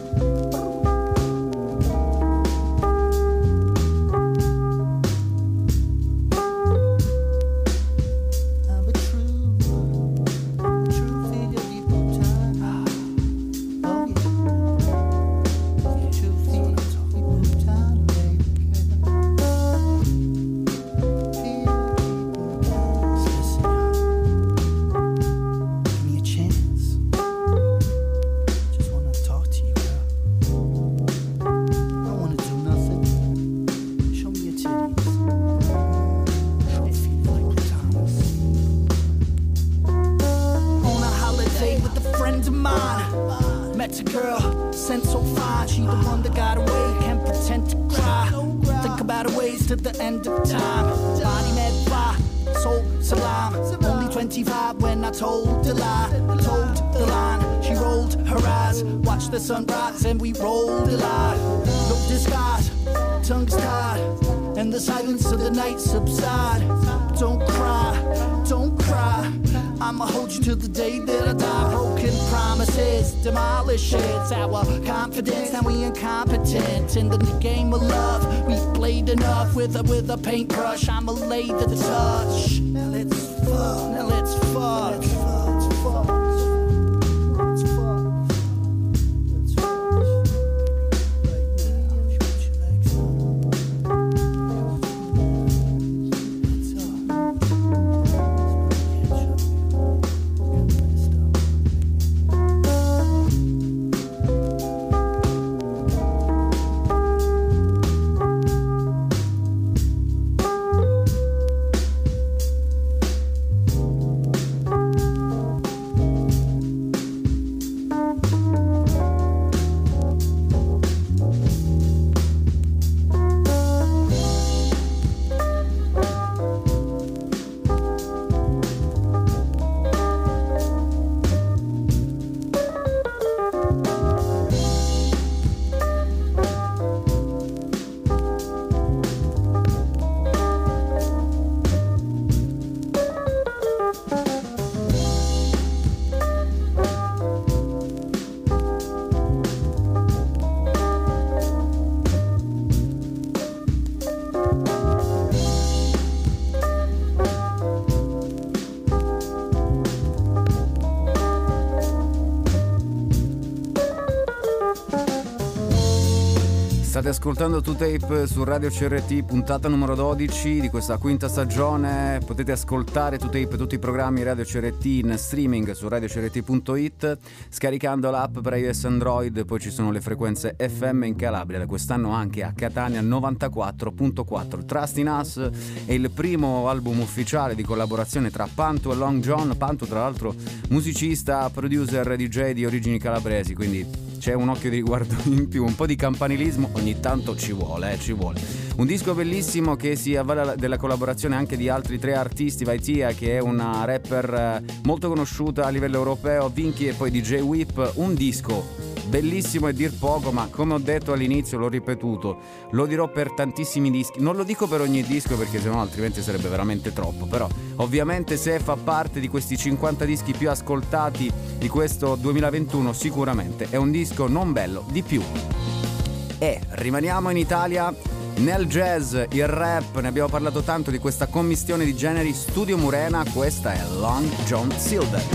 The sunrise and we rolled alive. No disguise, tongues tied, and the silence of the night subside. Don't cry, don't cry. I'ma hold you till the day that I die. Broken promises, demolish it. Our confidence, now we incompetent in the game of love. We played enough with a with a paintbrush. I'ma lay the touch. Now let's fuck. Now let's fuck. Let's fuck. Let's fuck. State ascoltando two Tape su Radio C R T, puntata numero dodici di questa quinta stagione. Potete ascoltare two Tape, tutti i programmi Radio C R T in streaming su radio c r t punto i t, scaricando l'app per iOS Android. Poi ci sono le frequenze F M in Calabria, da quest'anno anche a Catania novantaquattro virgola quattro. Trust in Us è il primo album ufficiale di collaborazione tra Pantu e Long John. Pantu tra l'altro musicista, producer, D J di origini calabresi, quindi c'è un occhio di riguardo in più, un po' di campanilismo ogni tanto ci vuole, eh, ci vuole. Un disco bellissimo che si avvale della collaborazione anche di altri tre artisti, Vaitia che è una rapper molto conosciuta a livello europeo, Vinky e poi D J Whip. Un disco bellissimo e dir poco, ma come ho detto all'inizio, l'ho ripetuto, lo dirò per tantissimi dischi, non lo dico per ogni disco perché sennò altrimenti sarebbe veramente troppo, però ovviamente se fa parte di questi cinquanta dischi più ascoltati di questo duemilaventuno sicuramente è un disco non bello di più. E rimaniamo in Italia, nel jazz, il rap, ne abbiamo parlato tanto di questa commistione di generi. Studio Murena, questa è Long John Silver.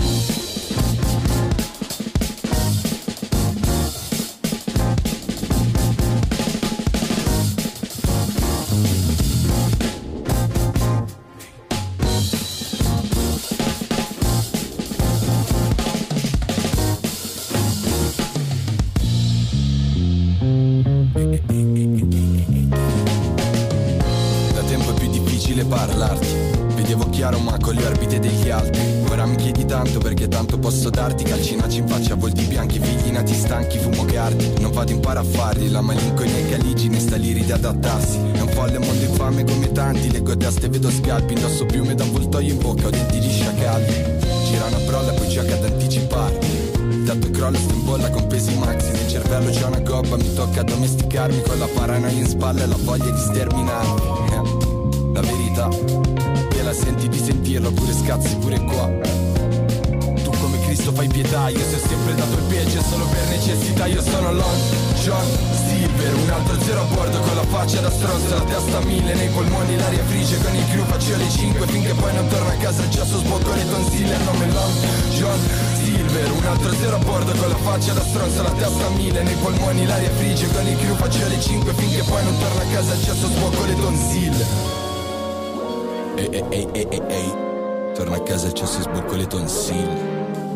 Posso darti calcinacci in faccia, volti bianchi, figli nati stanchi, fumo cardi. Non vado in paraffari, la malinconia e caligine sta lì di adattarsi. È un folle mondo infame come tanti, leggo a destra e vedo scalpi, indosso piume da avvoltoio in bocca, ho denti di sciacalli. Gira una prolla poi gioca ad anticipare. Il tatto crolla, sto in bolla con pesi maxi, nel cervello c'è una gobba, mi tocca domesticarmi con la paranoia in spalla e la voglia di sterminarmi. La verità, te la senti di sentirlo, pure scazzi pure qua. Cristo fai pietà, io se ho sempre dato il peggio solo per necessità. Io sono Long John Silver, un altro zero a bordo con la faccia da stronzo, la testa a mille, nei polmoni l'aria frigge, con il crew faccio le cinque finché poi non torno a casa e già so sbocco le tonsille. Il nome Long John Silver, un altro zero a bordo con la faccia da stronzo, la testa a mille, nei polmoni l'aria frigge, con il crew faccio le cinque finché poi non torno a casa e già so sbocco le tonsille. Ehi ehi ehi ehi ehi ehi, torno a casa e già so sbocco le tonsille.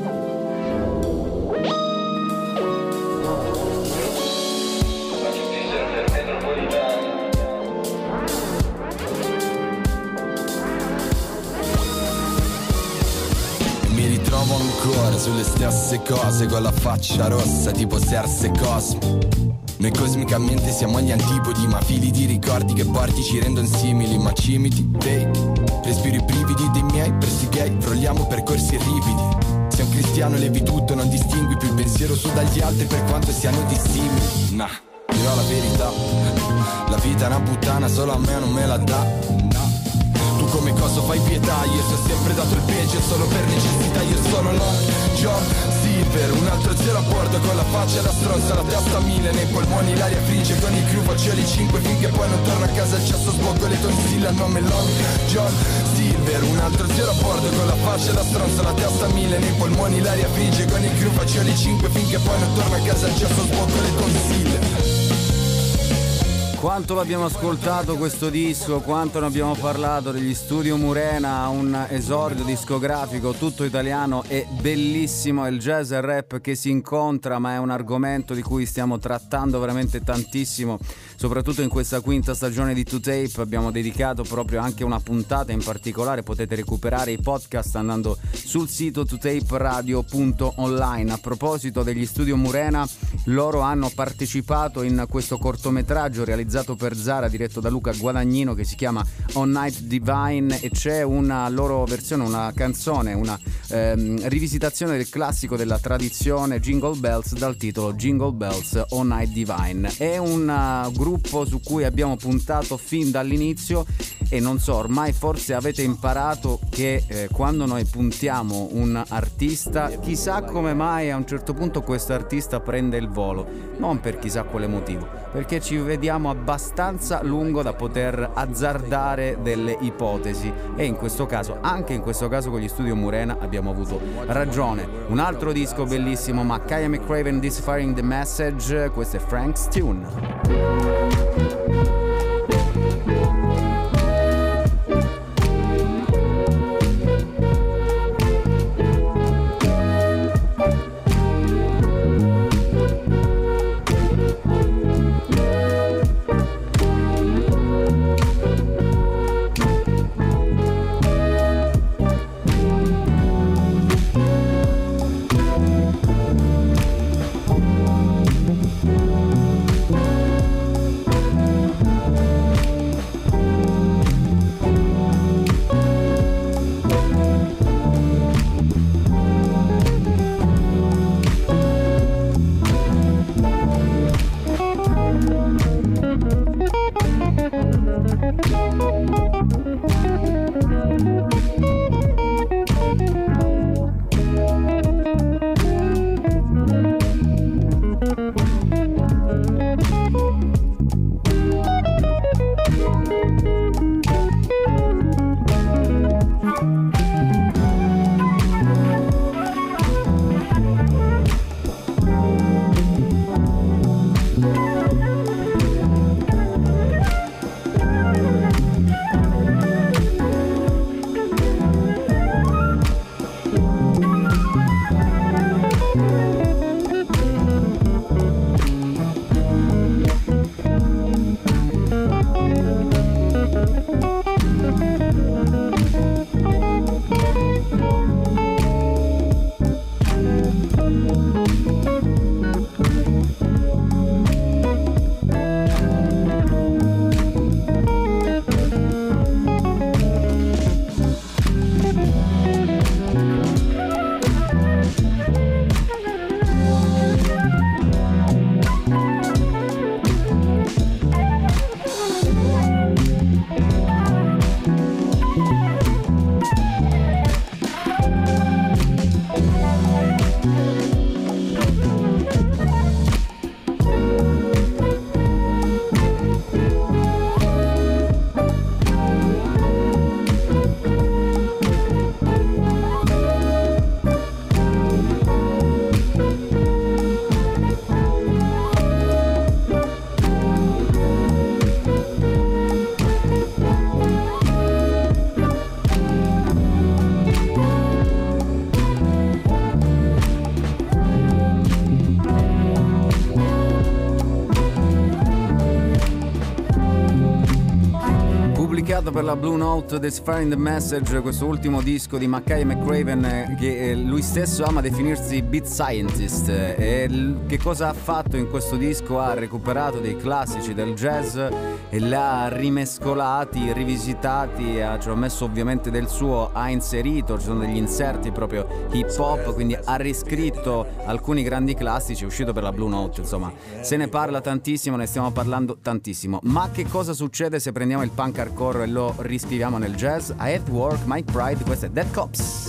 Ancora sulle stesse cose con la faccia rossa tipo Serse Cosmo. Noi cosmicamente siamo agli antipodi, ma fili di ricordi che porti ci rendono simili, ma cimiti, dei respiri i brividi dei miei persi gay, frolliamo percorsi ripidi. Sei un cristiano, levi tutto, non distingui più il pensiero su dagli altri per quanto siano dissimili. Nah, dirò la verità, la vita è una puttana, solo a me non me la dà. Tu come cosa fai pietà, io se ho sempre dato il peggio solo per necessità. Io sono Long John Silver, un altro zero a bordo con la faccia da stronzo, la testa a mille, nei polmoni l'aria frigge, con il crew faccio le cinque finché poi non torno a casa e cesso sbocco le tonsille. Al nome Long John Silver, un altro zero a bordo con la faccia da stronzo, la testa a mille, nei polmoni l'aria frigge, con il crew faccio le cinque finché poi non torno a casa e cesso sbocco le tonsille. Quanto l'abbiamo ascoltato questo disco, quanto ne abbiamo parlato degli Studio Murena, un esordio discografico tutto italiano e bellissimo. È il jazz e il rap che si incontra, ma è un argomento di cui stiamo trattando veramente tantissimo, soprattutto in questa quinta stagione di two tape. Abbiamo dedicato proprio anche una puntata in particolare, potete recuperare i podcast andando sul sito two tape radio punto online. A proposito degli Studio Murena, loro hanno partecipato in questo cortometraggio realizzato per Zara, diretto da Luca Guadagnino, che si chiama On Night Divine, e c'è una loro versione, una canzone, una ehm, rivisitazione del classico della tradizione Jingle Bells dal titolo Jingle Bells On Night Divine. È un uh, gruppo su cui abbiamo puntato fin dall'inizio e non so, ormai forse avete imparato che eh, quando noi puntiamo un artista, chissà come mai a un certo punto questo artista prende il volo, non per chissà quale motivo, perché ci vediamo abbastanza lungo da poter azzardare delle ipotesi, e in questo caso, anche in questo caso con gli Studio Murena abbiamo avuto ragione. Un altro disco bellissimo, Makaya McCraven, Deciphering the Message, questo è Frank's Tune. per la Blue Note, Deciphering the Message, questo ultimo disco di Mackay McCraven, che lui stesso ama definirsi beat scientist. E che cosa ha fatto in questo disco? Ha recuperato dei classici del jazz e li ha rimescolati, rivisitati, ha, ci ha messo ovviamente del suo, ha inserito, ci sono degli inserti proprio hip hop, quindi ha riscritto alcuni grandi classici. È uscito per la Blue Note, insomma se ne parla tantissimo, ne stiamo parlando tantissimo. Ma che cosa succede se prendiamo il punk hardcore e lo riscriviamo nel jazz? I Have to Work, Mike Pride, questo è Dead Cops.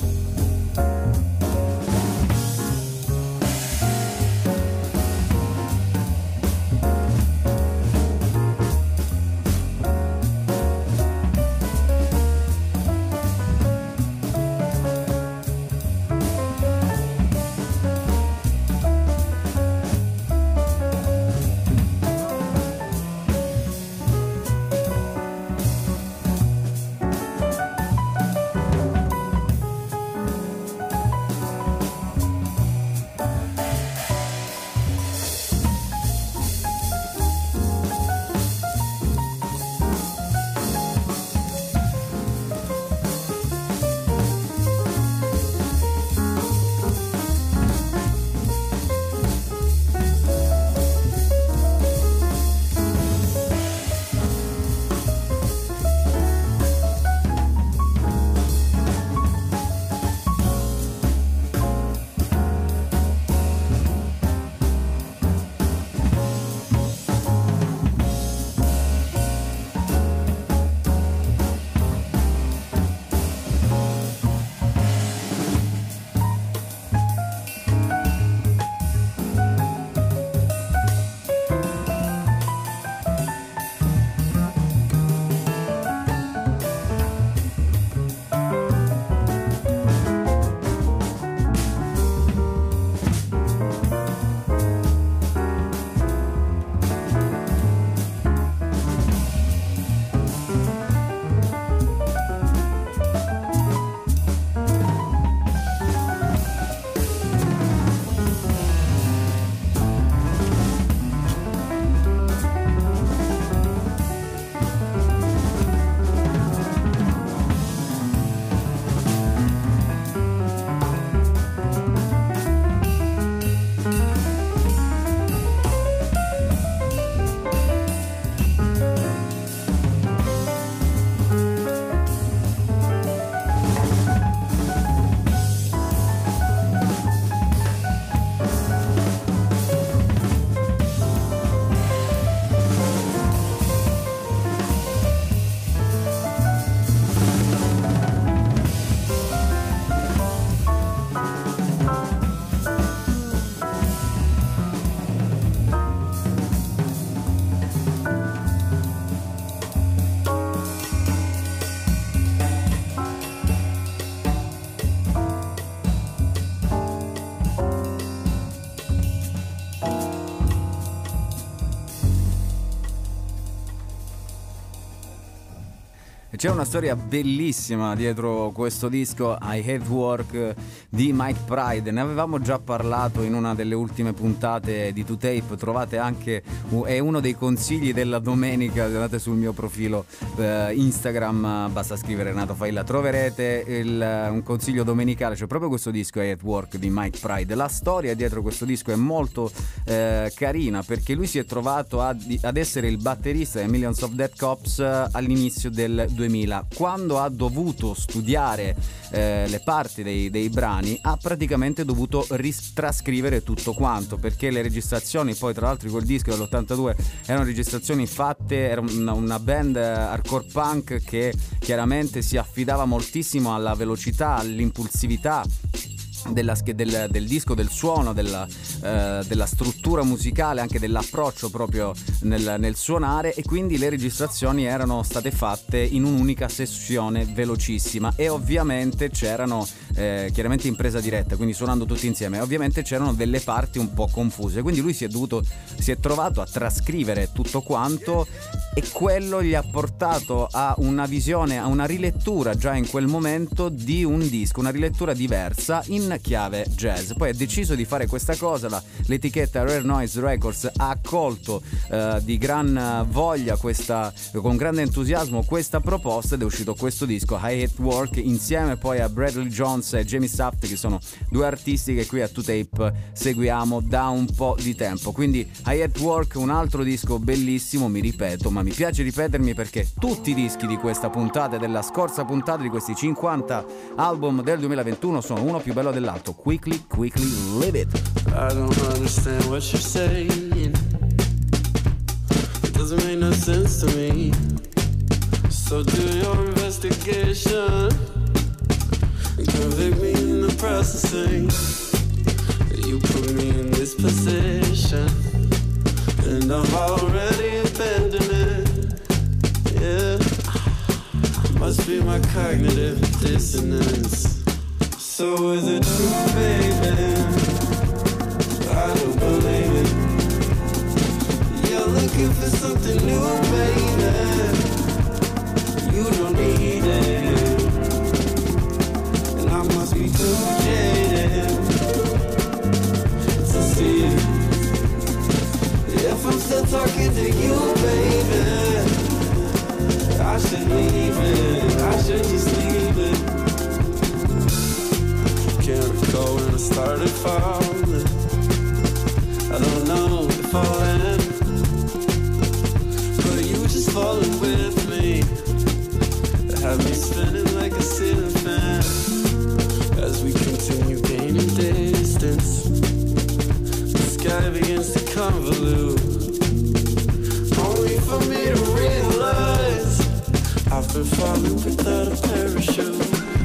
C'è una storia bellissima dietro questo disco I Have Work di Mike Pride. Ne avevamo già parlato in una delle ultime puntate di To Tape. Trovate anche, è uno dei consigli della domenica, andate sul mio profilo eh, Instagram, basta scrivere Renato Failla, troverete il, un consiglio domenicale, cioè proprio questo disco I Have Work di Mike Pride. La storia dietro questo disco è molto eh, carina, perché lui si è trovato a, ad essere il batterista di Millions of Dead Cops all'inizio del duemila. Quando ha dovuto studiare eh, le parti dei, dei brani, ha praticamente dovuto ritrascrivere tutto quanto, perché le registrazioni, poi tra l'altro quel disco dell'ottantadue erano registrazioni fatte, era una, una band hardcore punk che chiaramente si affidava moltissimo alla velocità, all'impulsività Della, del, del disco, del suono, della, eh, della struttura musicale, anche dell'approccio proprio nel, nel suonare, e quindi le registrazioni erano state fatte in un'unica sessione velocissima, e ovviamente c'erano eh, chiaramente in presa diretta, quindi suonando tutti insieme, ovviamente c'erano delle parti un po' confuse, quindi lui si è dovuto si è trovato a trascrivere tutto quanto, e quello gli ha portato a una visione, a una rilettura già in quel momento di un disco, una rilettura diversa in in chiave jazz. Poi ha deciso di fare questa cosa, la, l'etichetta Rare Noise Records ha accolto eh, di gran voglia questa, con grande entusiasmo questa proposta, ed è uscito questo disco I Hate Work insieme poi a Bradley Jones e Jamie Saft, che sono due artisti che qui a two tape seguiamo da un po' di tempo. Quindi I Hate Work, un altro disco bellissimo, mi ripeto, ma mi piace ripetermi perché tutti i dischi di questa puntata e della scorsa puntata di questi cinquanta album del duemilaventuno sono uno più bello dell'altro. Quickly, quickly, live it. I don't understand what you're saying. It doesn't make no sense to me. So do your investigation and convict me in the processing. You put me in this position and I've already abandoned it. Yeah, must be my cognitive dissonance. So is it true, baby? I don't believe it. You're looking for something new, baby. You don't need it. And I must be too jaded to see it. If I'm still talking to you, baby, I should leave it. I should just leave it. Can't recall when I started falling. I don't know if I'll end, but you just falling with me. Have me spinning like a ceiling fan as we continue gaining distance. The sky begins to convolute, only for me to realize I've been falling without a parachute.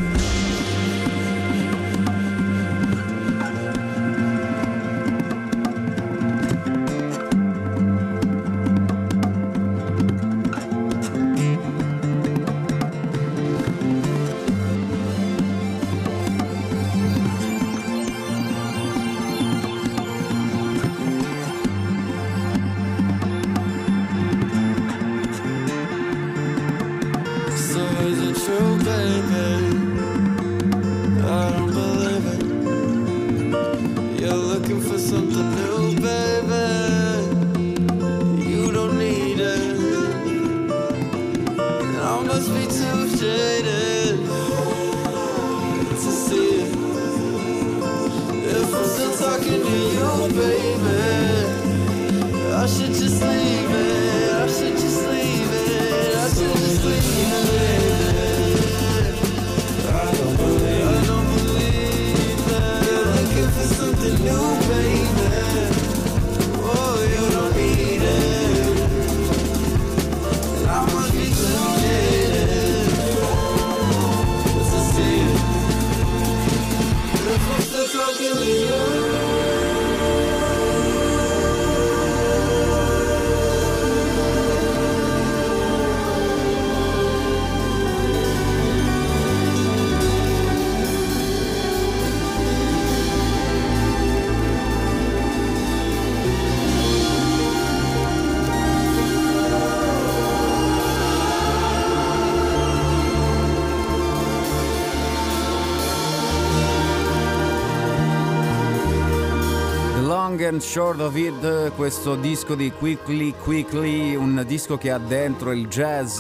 And Short of It, questo disco di Quickly Quickly, un disco che ha dentro il jazz,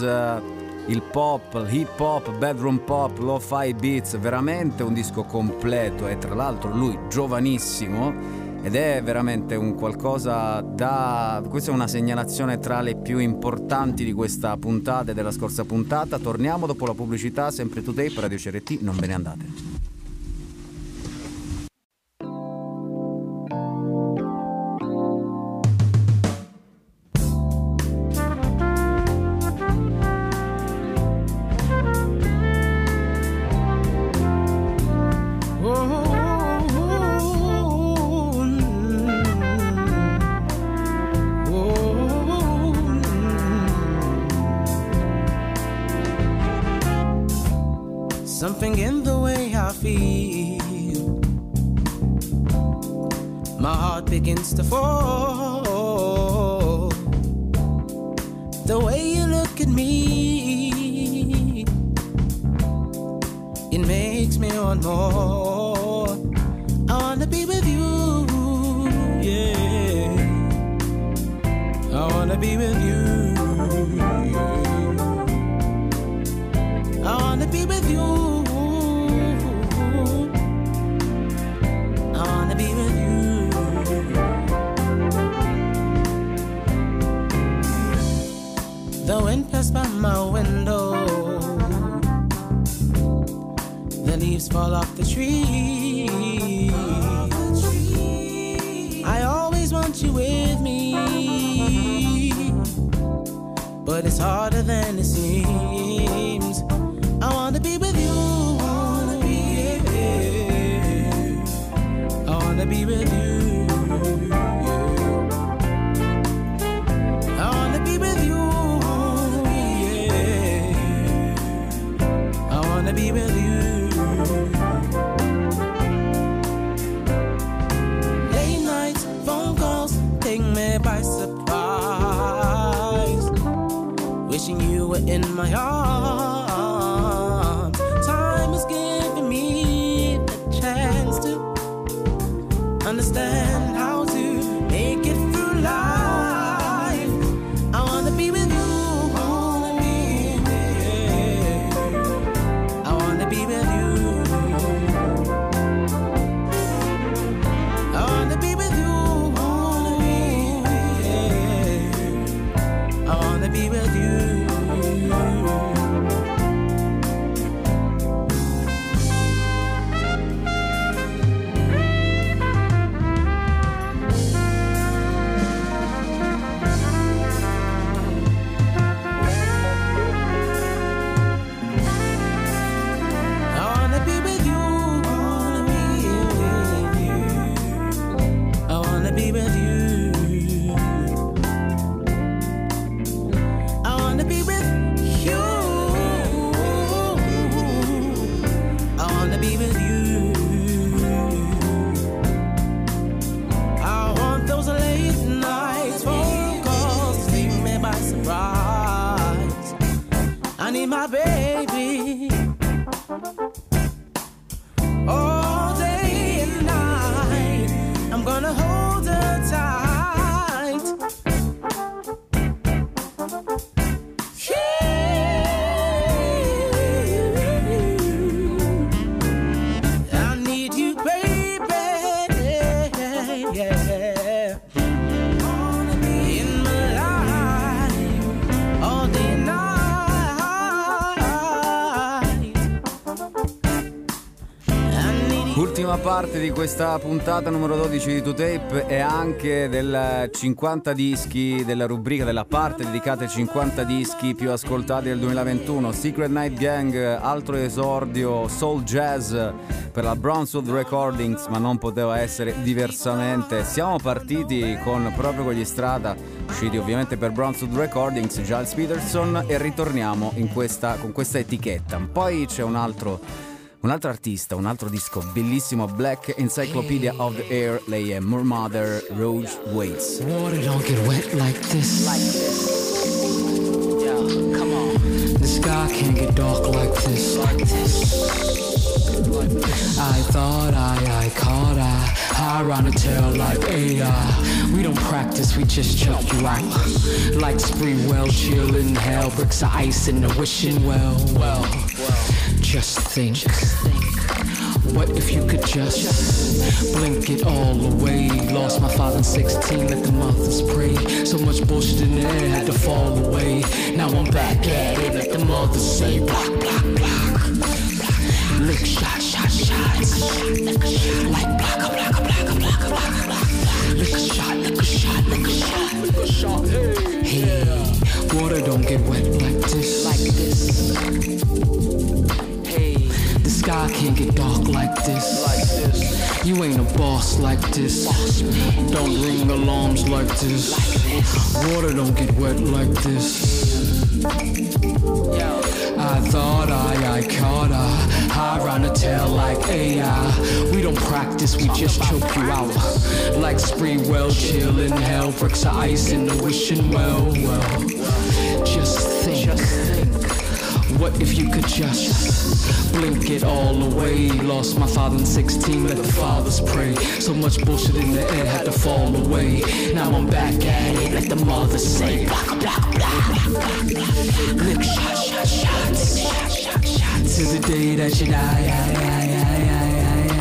il pop, il hip hop, bedroom pop, lo-fi beats, veramente un disco completo, e tra l'altro lui giovanissimo, ed è veramente un qualcosa da... questa è una segnalazione tra le più importanti di questa puntata e della scorsa puntata. Torniamo dopo la pubblicità, sempre two tape, Radio C R T, non ve ne andate. Something in the way I feel, my heart begins to fall. The way you look at me, it makes me want more. wanna be with you. I wanna be with you. I wanna be with you. The wind passed by my window. The leaves fall off the tree. I always want you with me, but it's harder than it seems. I wanna be with you. I wanna be with you. I wanna be with you. I wanna be with you. I wanna be with you. Late nights, phone calls, take me by surprise. Wishing you were in my arms. Time is giving me the chance to understand how to make it through life. I wanna be with you. I wanna be with you. I wanna be with you. I wanna be with you. I wanna be with you. I wanna be with you. My baby, all day and night, I'm gonna hold her tight. I need you, baby, yeah. Wanna be in my life all day and night. Ultima parte di questa puntata numero dodici di To Tape e anche del cinquanta dischi, della rubrica, della parte dedicata ai cinquanta dischi più ascoltati del duemilaventuno. Secret Night Gang, altro esordio soul jazz per la Brownswood Recordings, ma non poteva essere diversamente. Siamo partiti con proprio quegli Strata, usciti ovviamente per Brownswood Recordings, Giles Peterson, e ritorniamo in questa, con questa etichetta. Poi c'è un altro Un altro artista, un altro disco bellissimo, Black Encyclopedia of the Air, lei è Moor Mother, Rouge Waits. Water don't get wet like this. Like this. Yeah, come on. The sky can't get dark like this. Like this. Like this. I thought I, I caught I, high around the tail like A I. We don't practice, we just choke you out. Like spree well, chill in hell, bricks of ice in the wishing well, well. Just think, what if you could just blink it all away? Lost my father in sixteen, let the mothers pray. So much bullshit in the air had to fall away. Now I'm back at it, let the mothers say block, block, block. Lick shot, shot, shots. Like block, block, block, block, block, block. Lick a shot, lick a shot, lick a shot, lick a shot. Hey, water don't get wet like this. Like this. The sky can't get dark like this. Like this. You ain't a boss like this. Boss, don't ring alarms like this. Like this. Water don't get wet like this. Yo. I thought I, I caught I, high around the tail like A I. We don't practice, we just choke you out. Like spree well, chill in hell, bricks of ice in the wishing well, well. Just think. Just think. What if you could just blink it all away? Lost my father in sixteen, let the fathers pray. So much bullshit in the air had to fall away. Now I'm back at it, let the mothers say blah, blah, blah, blah. Lick shot, shot, shots, shot, shot, shots. To the day that you die, I, I, I, I, I.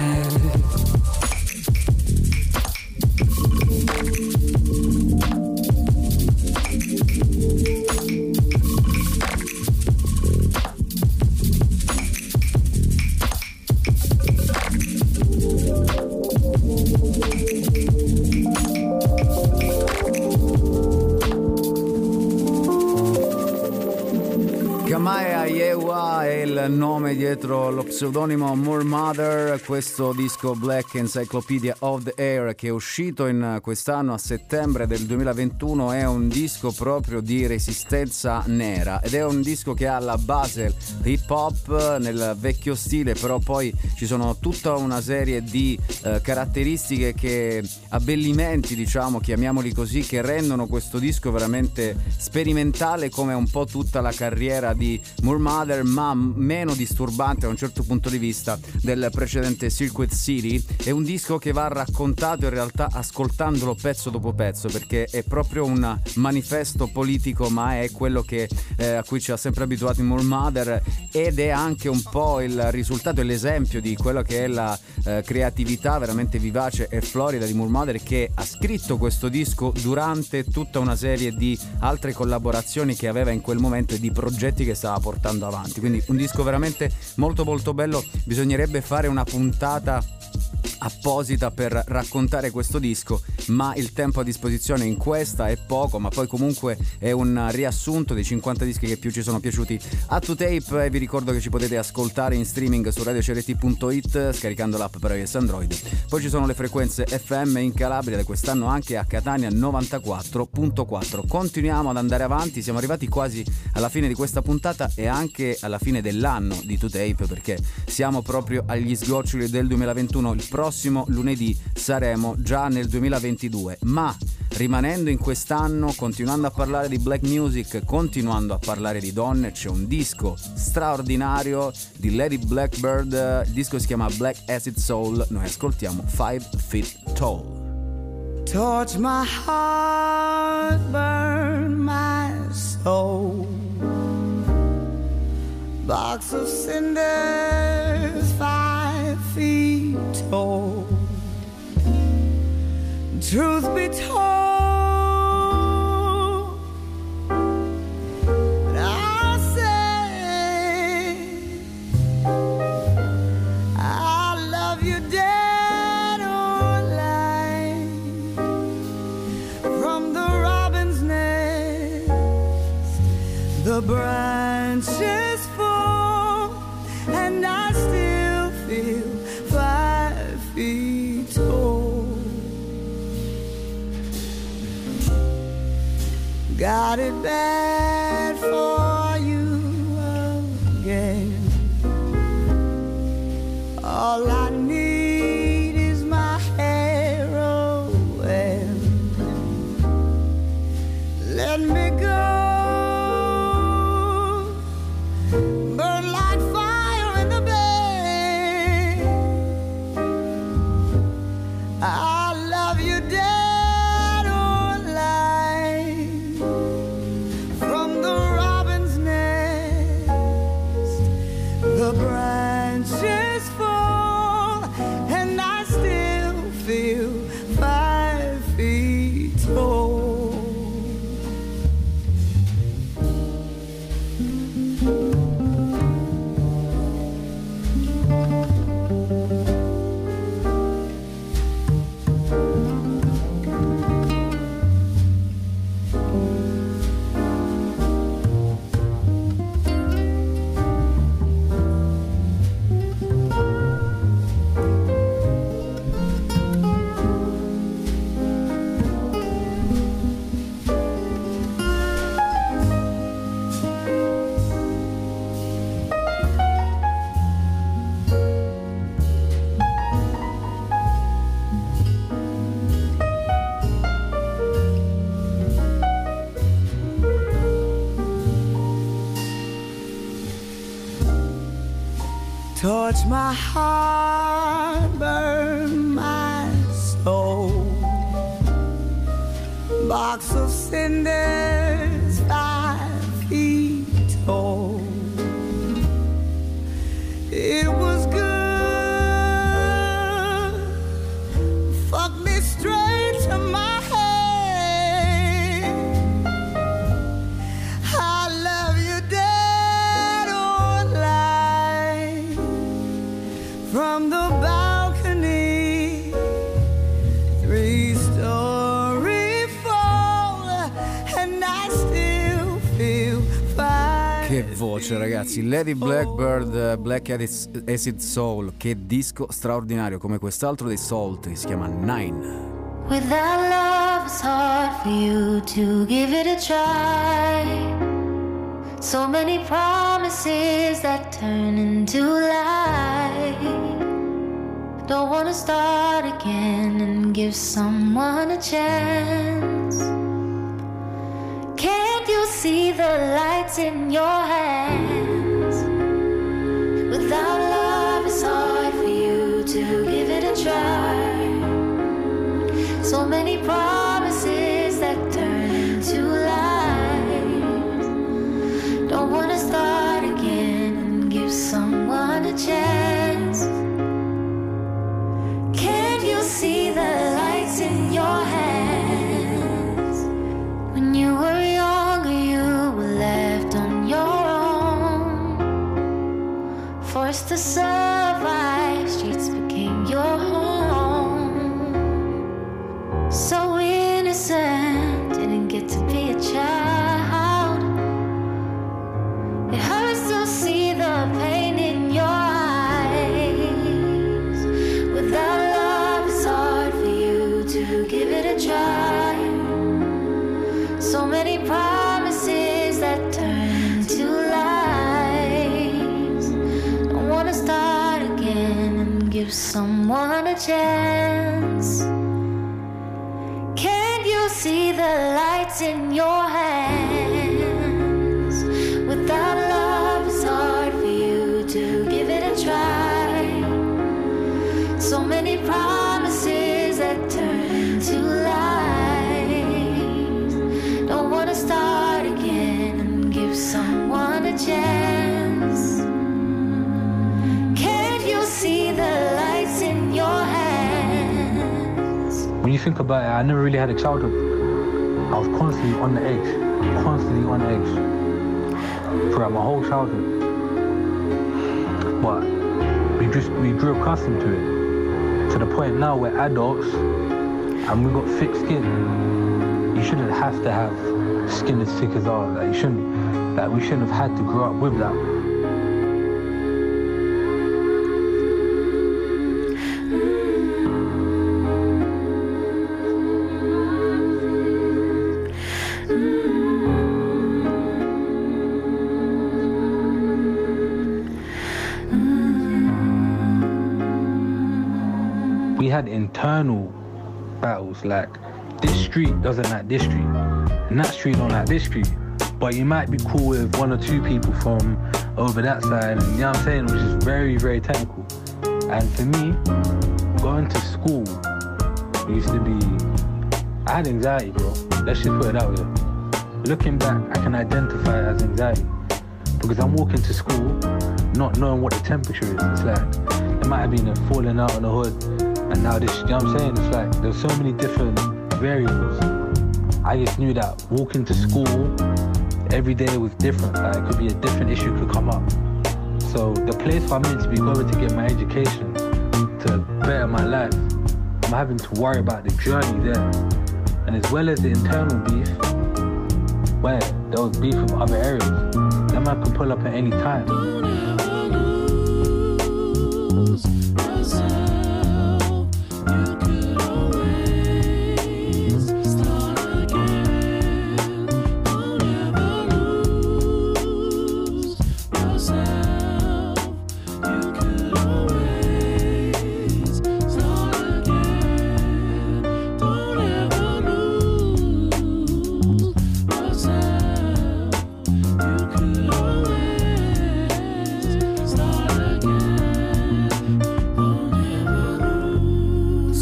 Il nome dietro lo pseudonimo Moor Mother, questo disco Black Encyclopedia of the Air che è uscito in quest'anno a settembre del duemilaventuno è un disco proprio di resistenza nera ed è un disco che ha alla base hip hop nel vecchio stile, però poi ci sono tutta una serie di eh, caratteristiche che abbellimenti, diciamo, chiamiamoli così, che rendono questo disco veramente sperimentale come un po' tutta la carriera di Moor Mother, ma meno disturbante da un certo punto di vista del precedente Circuit City. È un disco che va raccontato in realtà ascoltandolo pezzo dopo pezzo, perché è proprio un manifesto politico, ma è quello che, eh, a cui ci ha sempre abituato in Moor Mother, ed è anche un po' il risultato e l'esempio di quello che è la eh, creatività veramente vivace e florida di Moor Mother, che ha scritto questo disco durante tutta una serie di altre collaborazioni che aveva in quel momento e di progetti che stava portando avanti. Quindi un disco veramente molto molto bello, bisognerebbe fare una puntata apposita per raccontare questo disco, ma il tempo a disposizione in questa è poco, ma poi comunque è un riassunto dei cinquanta dischi che più ci sono piaciuti a To Tape, e vi ricordo che ci potete ascoltare in streaming su radio c r t punto i t scaricando l'app per iOS Android. Poi ci sono le frequenze F M in Calabria, da quest'anno anche a Catania novantaquattro virgola quattro. Continuiamo ad andare avanti, siamo arrivati quasi alla fine di questa puntata e anche alla fine dell'anno di To Tape, perché siamo proprio agli sgoccioli del duemilaventuno. Il prossimo lunedì saremo già nel duemilaventidue, ma rimanendo in quest'anno, continuando a parlare di black music, continuando a parlare di donne, c'è un disco straordinario di Lady Blackbird, il disco si chiama Black Acid Soul, noi ascoltiamo Five Feet Tall. Torch my heart, burn my soul. Box of cinders, five feet tall. Truth be told, I'll say I love you dead or alive. From the robin's nest, the branches fall, and I still feel five feet tall. Got it bad for you again. All I need is my heroin. Let me go. Burn like fire in the bed. I love you dead or alive. From my heart, burn my soul. Box of cinders, five feet tall. It was good, fuck me straight to my head. I love you dead or alive. From the balcony, three story fall, and I still feel fine. Che voce, ragazzi. Lady Blackbird, Black Acid Soul. Che disco straordinario, come quest'altro dei Salty, si chiama Nine. Without love, it's hard for you to give it a try. So many promises that turn into lies. Don't wanna start again and give someone a chance. Can't you see the lights in your hands? Without love, it's hard for you to give it a try. So many promises that turn into lies. Don't wanna start again and give someone a chance. Can't you see the lights in your hands? When you were younger, you were left on your own, forced to survive, streets became your home. So innocent, didn't get to be a child. It hurts to see the pain in your eyes. Without love, it's hard for you to give it a try. So many promises that turn to lies. Don't wanna start again and give someone a chance. Can't you see the lights in your hands? Without love, it's hard for you to give it a try. So many promises that turn to lies. Don't wanna start again and give someone a chance. Can't you see the lights in your hands? When you think about it, I never really had a childhood. I was constantly on the edge, constantly on the edge throughout my whole childhood. But we just we grew accustomed to it, to the point now we're adults and we got thick skin. You shouldn't have to have skin as thick as ours. Like you shouldn't, like we shouldn't have had to grow up with that. We had internal battles, like this street doesn't like this street, and that street don't like this street. But you might be cool with one or two people from over that side, and you know what I'm saying, which is very, very technical. And for me, going to school used to be, I had anxiety, bro. Let's just put it that way. Looking back, I can identify it as anxiety because I'm walking to school not knowing what the temperature is. It's like there might have been a falling out on the hood. And now this, you know what I'm saying? It's like there's so many different variables. I just knew that walking to school every day was different. Like it could be a different issue could come up. So the place I'm meant to be going to get my education, to better my life, I'm having to worry about the journey there. And as well as the internal beef, where there was beef from other areas, that man can pull up at any time.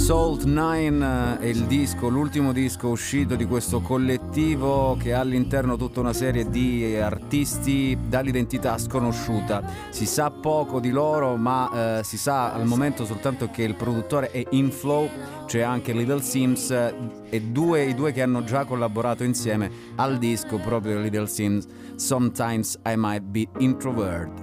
Salt nine è il disco, l'ultimo disco uscito di questo collettivo che ha all'interno tutta una serie di artisti dall'identità sconosciuta. Si sa poco di loro, ma eh, si sa al momento soltanto che il produttore è Inflow, c'è anche Little Sims e due, i due che hanno già collaborato insieme al disco, proprio Little Sims, Sometimes I Might Be Introvert.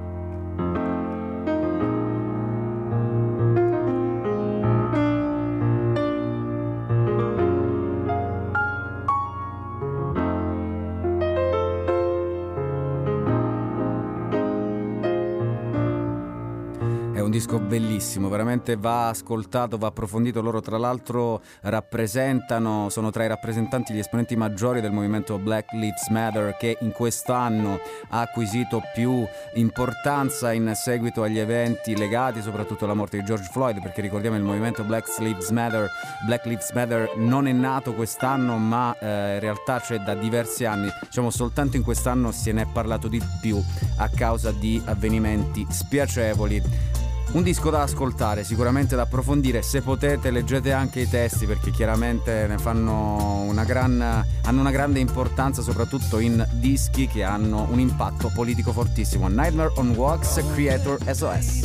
Un disco bellissimo, veramente va ascoltato, va approfondito. Loro tra l'altro rappresentano, sono tra i rappresentanti, gli esponenti maggiori del movimento Black Lives Matter, che in quest'anno ha acquisito più importanza in seguito agli eventi legati soprattutto alla morte di George Floyd, perché ricordiamo il movimento Black Lives Matter, Black Lives Matter non è nato quest'anno, ma eh, in realtà c'è da diversi anni, diciamo soltanto in quest'anno se ne è parlato di più a causa di avvenimenti spiacevoli. Un disco da ascoltare, sicuramente da approfondire. Se potete leggete anche i testi, perché chiaramente ne fanno una gran, hanno una grande importanza, soprattutto in dischi che hanno un impatto politico fortissimo. Nightmare on Wax, Creator S O S.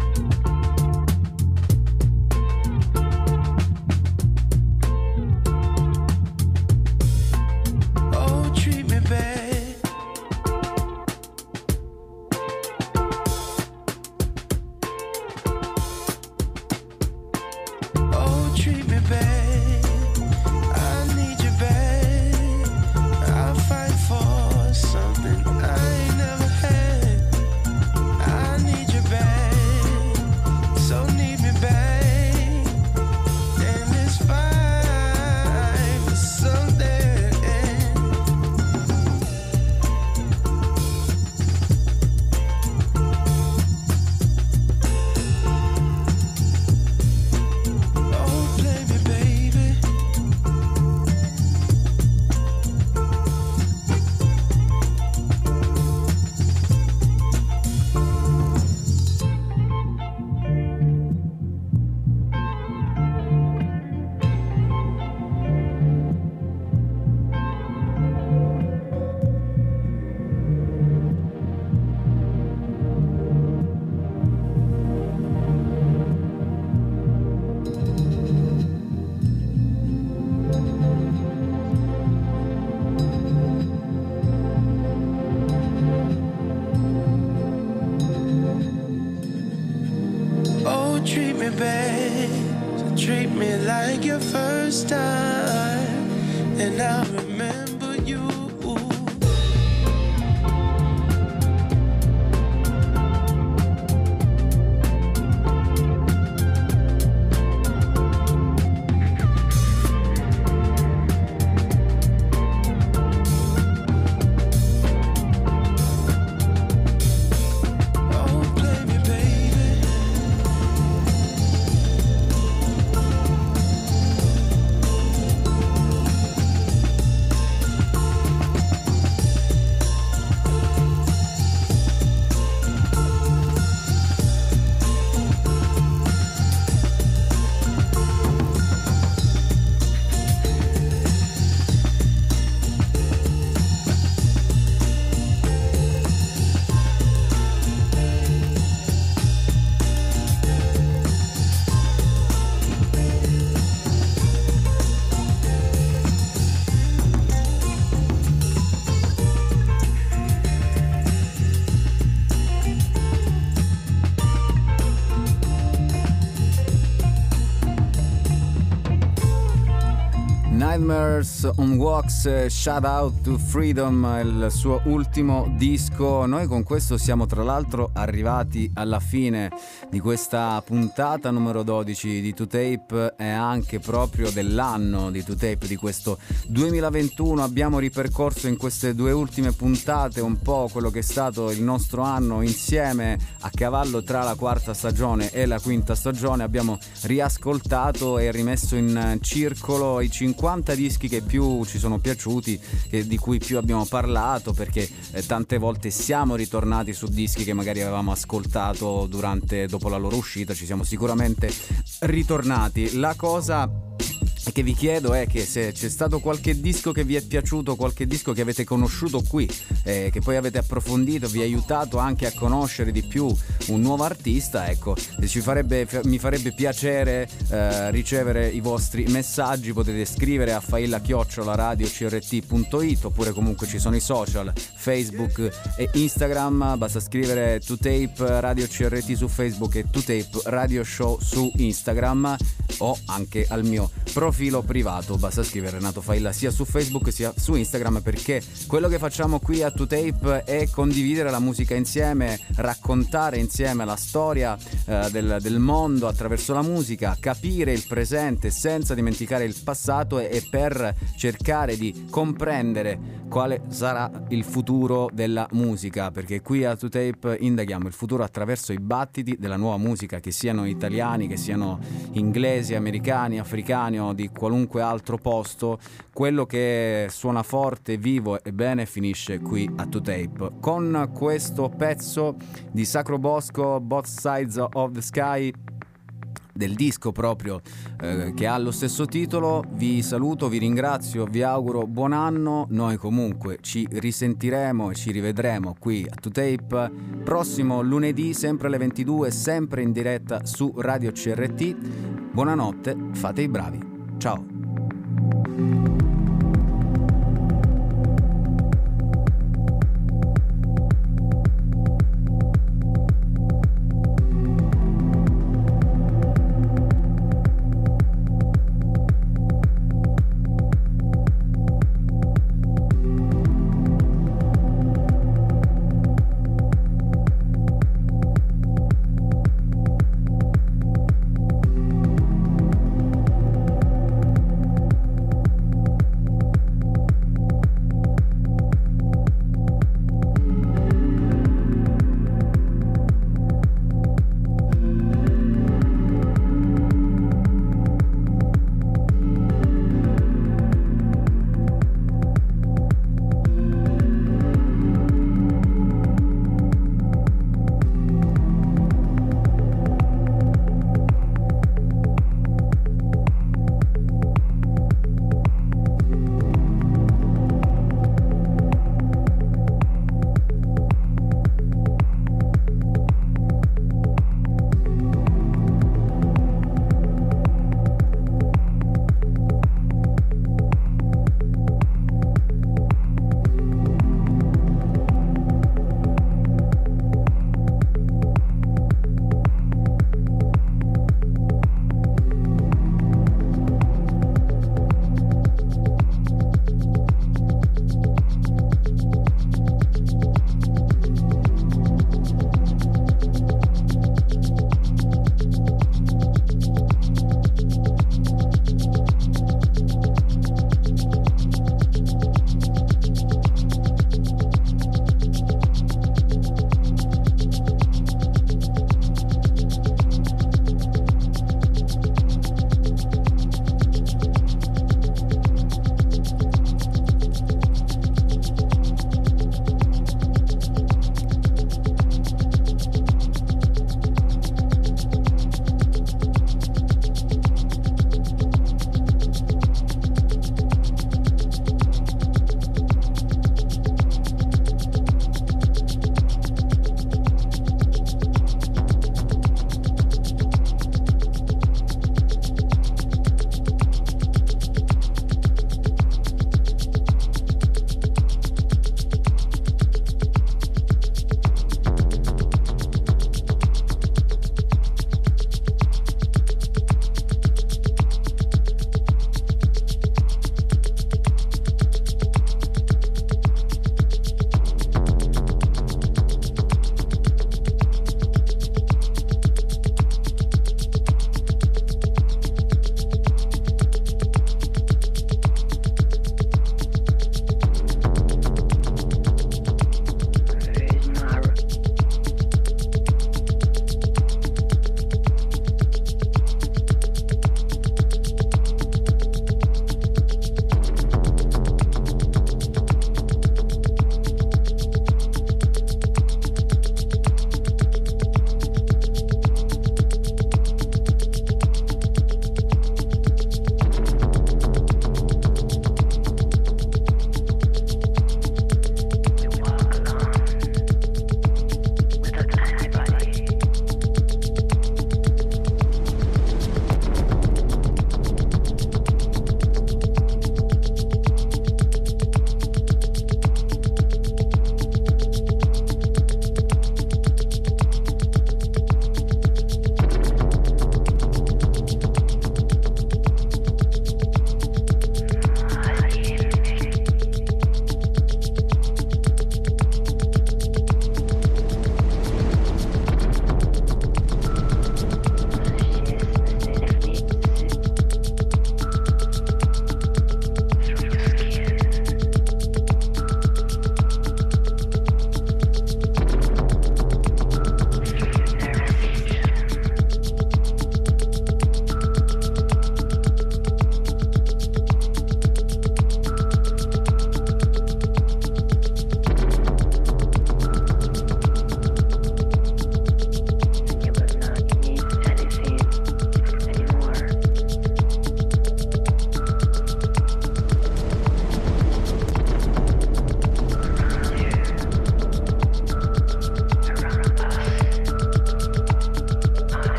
Nightmares on Wax, Shout Out to Freedom, il suo ultimo disco. Noi con questo siamo tra l'altro arrivati alla fine di questa puntata numero dodici di two tape e anche proprio dell'anno di two tape di questo duemilaventuno. Abbiamo ripercorso in queste due ultime puntate un po' quello che è stato il nostro anno insieme, a cavallo tra la quarta stagione e la quinta stagione. Abbiamo riascoltato e rimesso in circolo i cinquanta cinquanta dischi che più ci sono piaciuti, che, di cui più abbiamo parlato, perché eh, tante volte siamo ritornati su dischi che magari avevamo ascoltato durante dopo la loro uscita, ci siamo sicuramente ritornati. La cosa che vi chiedo è che se c'è stato qualche disco che vi è piaciuto, qualche disco che avete conosciuto qui, eh, che poi avete approfondito, vi ha aiutato anche a conoscere di più un nuovo artista, ecco, ci farebbe, mi farebbe piacere eh, ricevere i vostri messaggi. Potete scrivere a failla chiocciola radio c r t punto it, oppure comunque ci sono i social Facebook e Instagram, basta scrivere To Tape Radio C R T su Facebook e To Tape Radio Show su Instagram, o anche al mio profilo privato, basta scrivere Renato Failla sia su Facebook sia su Instagram, perché quello che facciamo qui a To Tape è condividere la musica insieme, raccontare insieme la storia eh, del, del mondo attraverso la musica, capire il presente senza dimenticare il passato, e, e per cercare di comprendere quale sarà il futuro della musica, perché qui a To Tape indaghiamo il futuro attraverso i battiti della nuova musica, che siano italiani, che siano inglesi, americani, africani o di qualunque altro posto. Quello che suona forte, vivo e bene finisce qui a To Tape. Con questo pezzo di Sacro Bosco, Both Sides of the Sky, del disco proprio eh, che ha lo stesso titolo, vi saluto, vi ringrazio, vi auguro buon anno. Noi comunque ci risentiremo e ci rivedremo qui a To Tape prossimo lunedì, sempre alle ventidue, sempre in diretta su Radio C R T. Buonanotte, fate i bravi, ciao.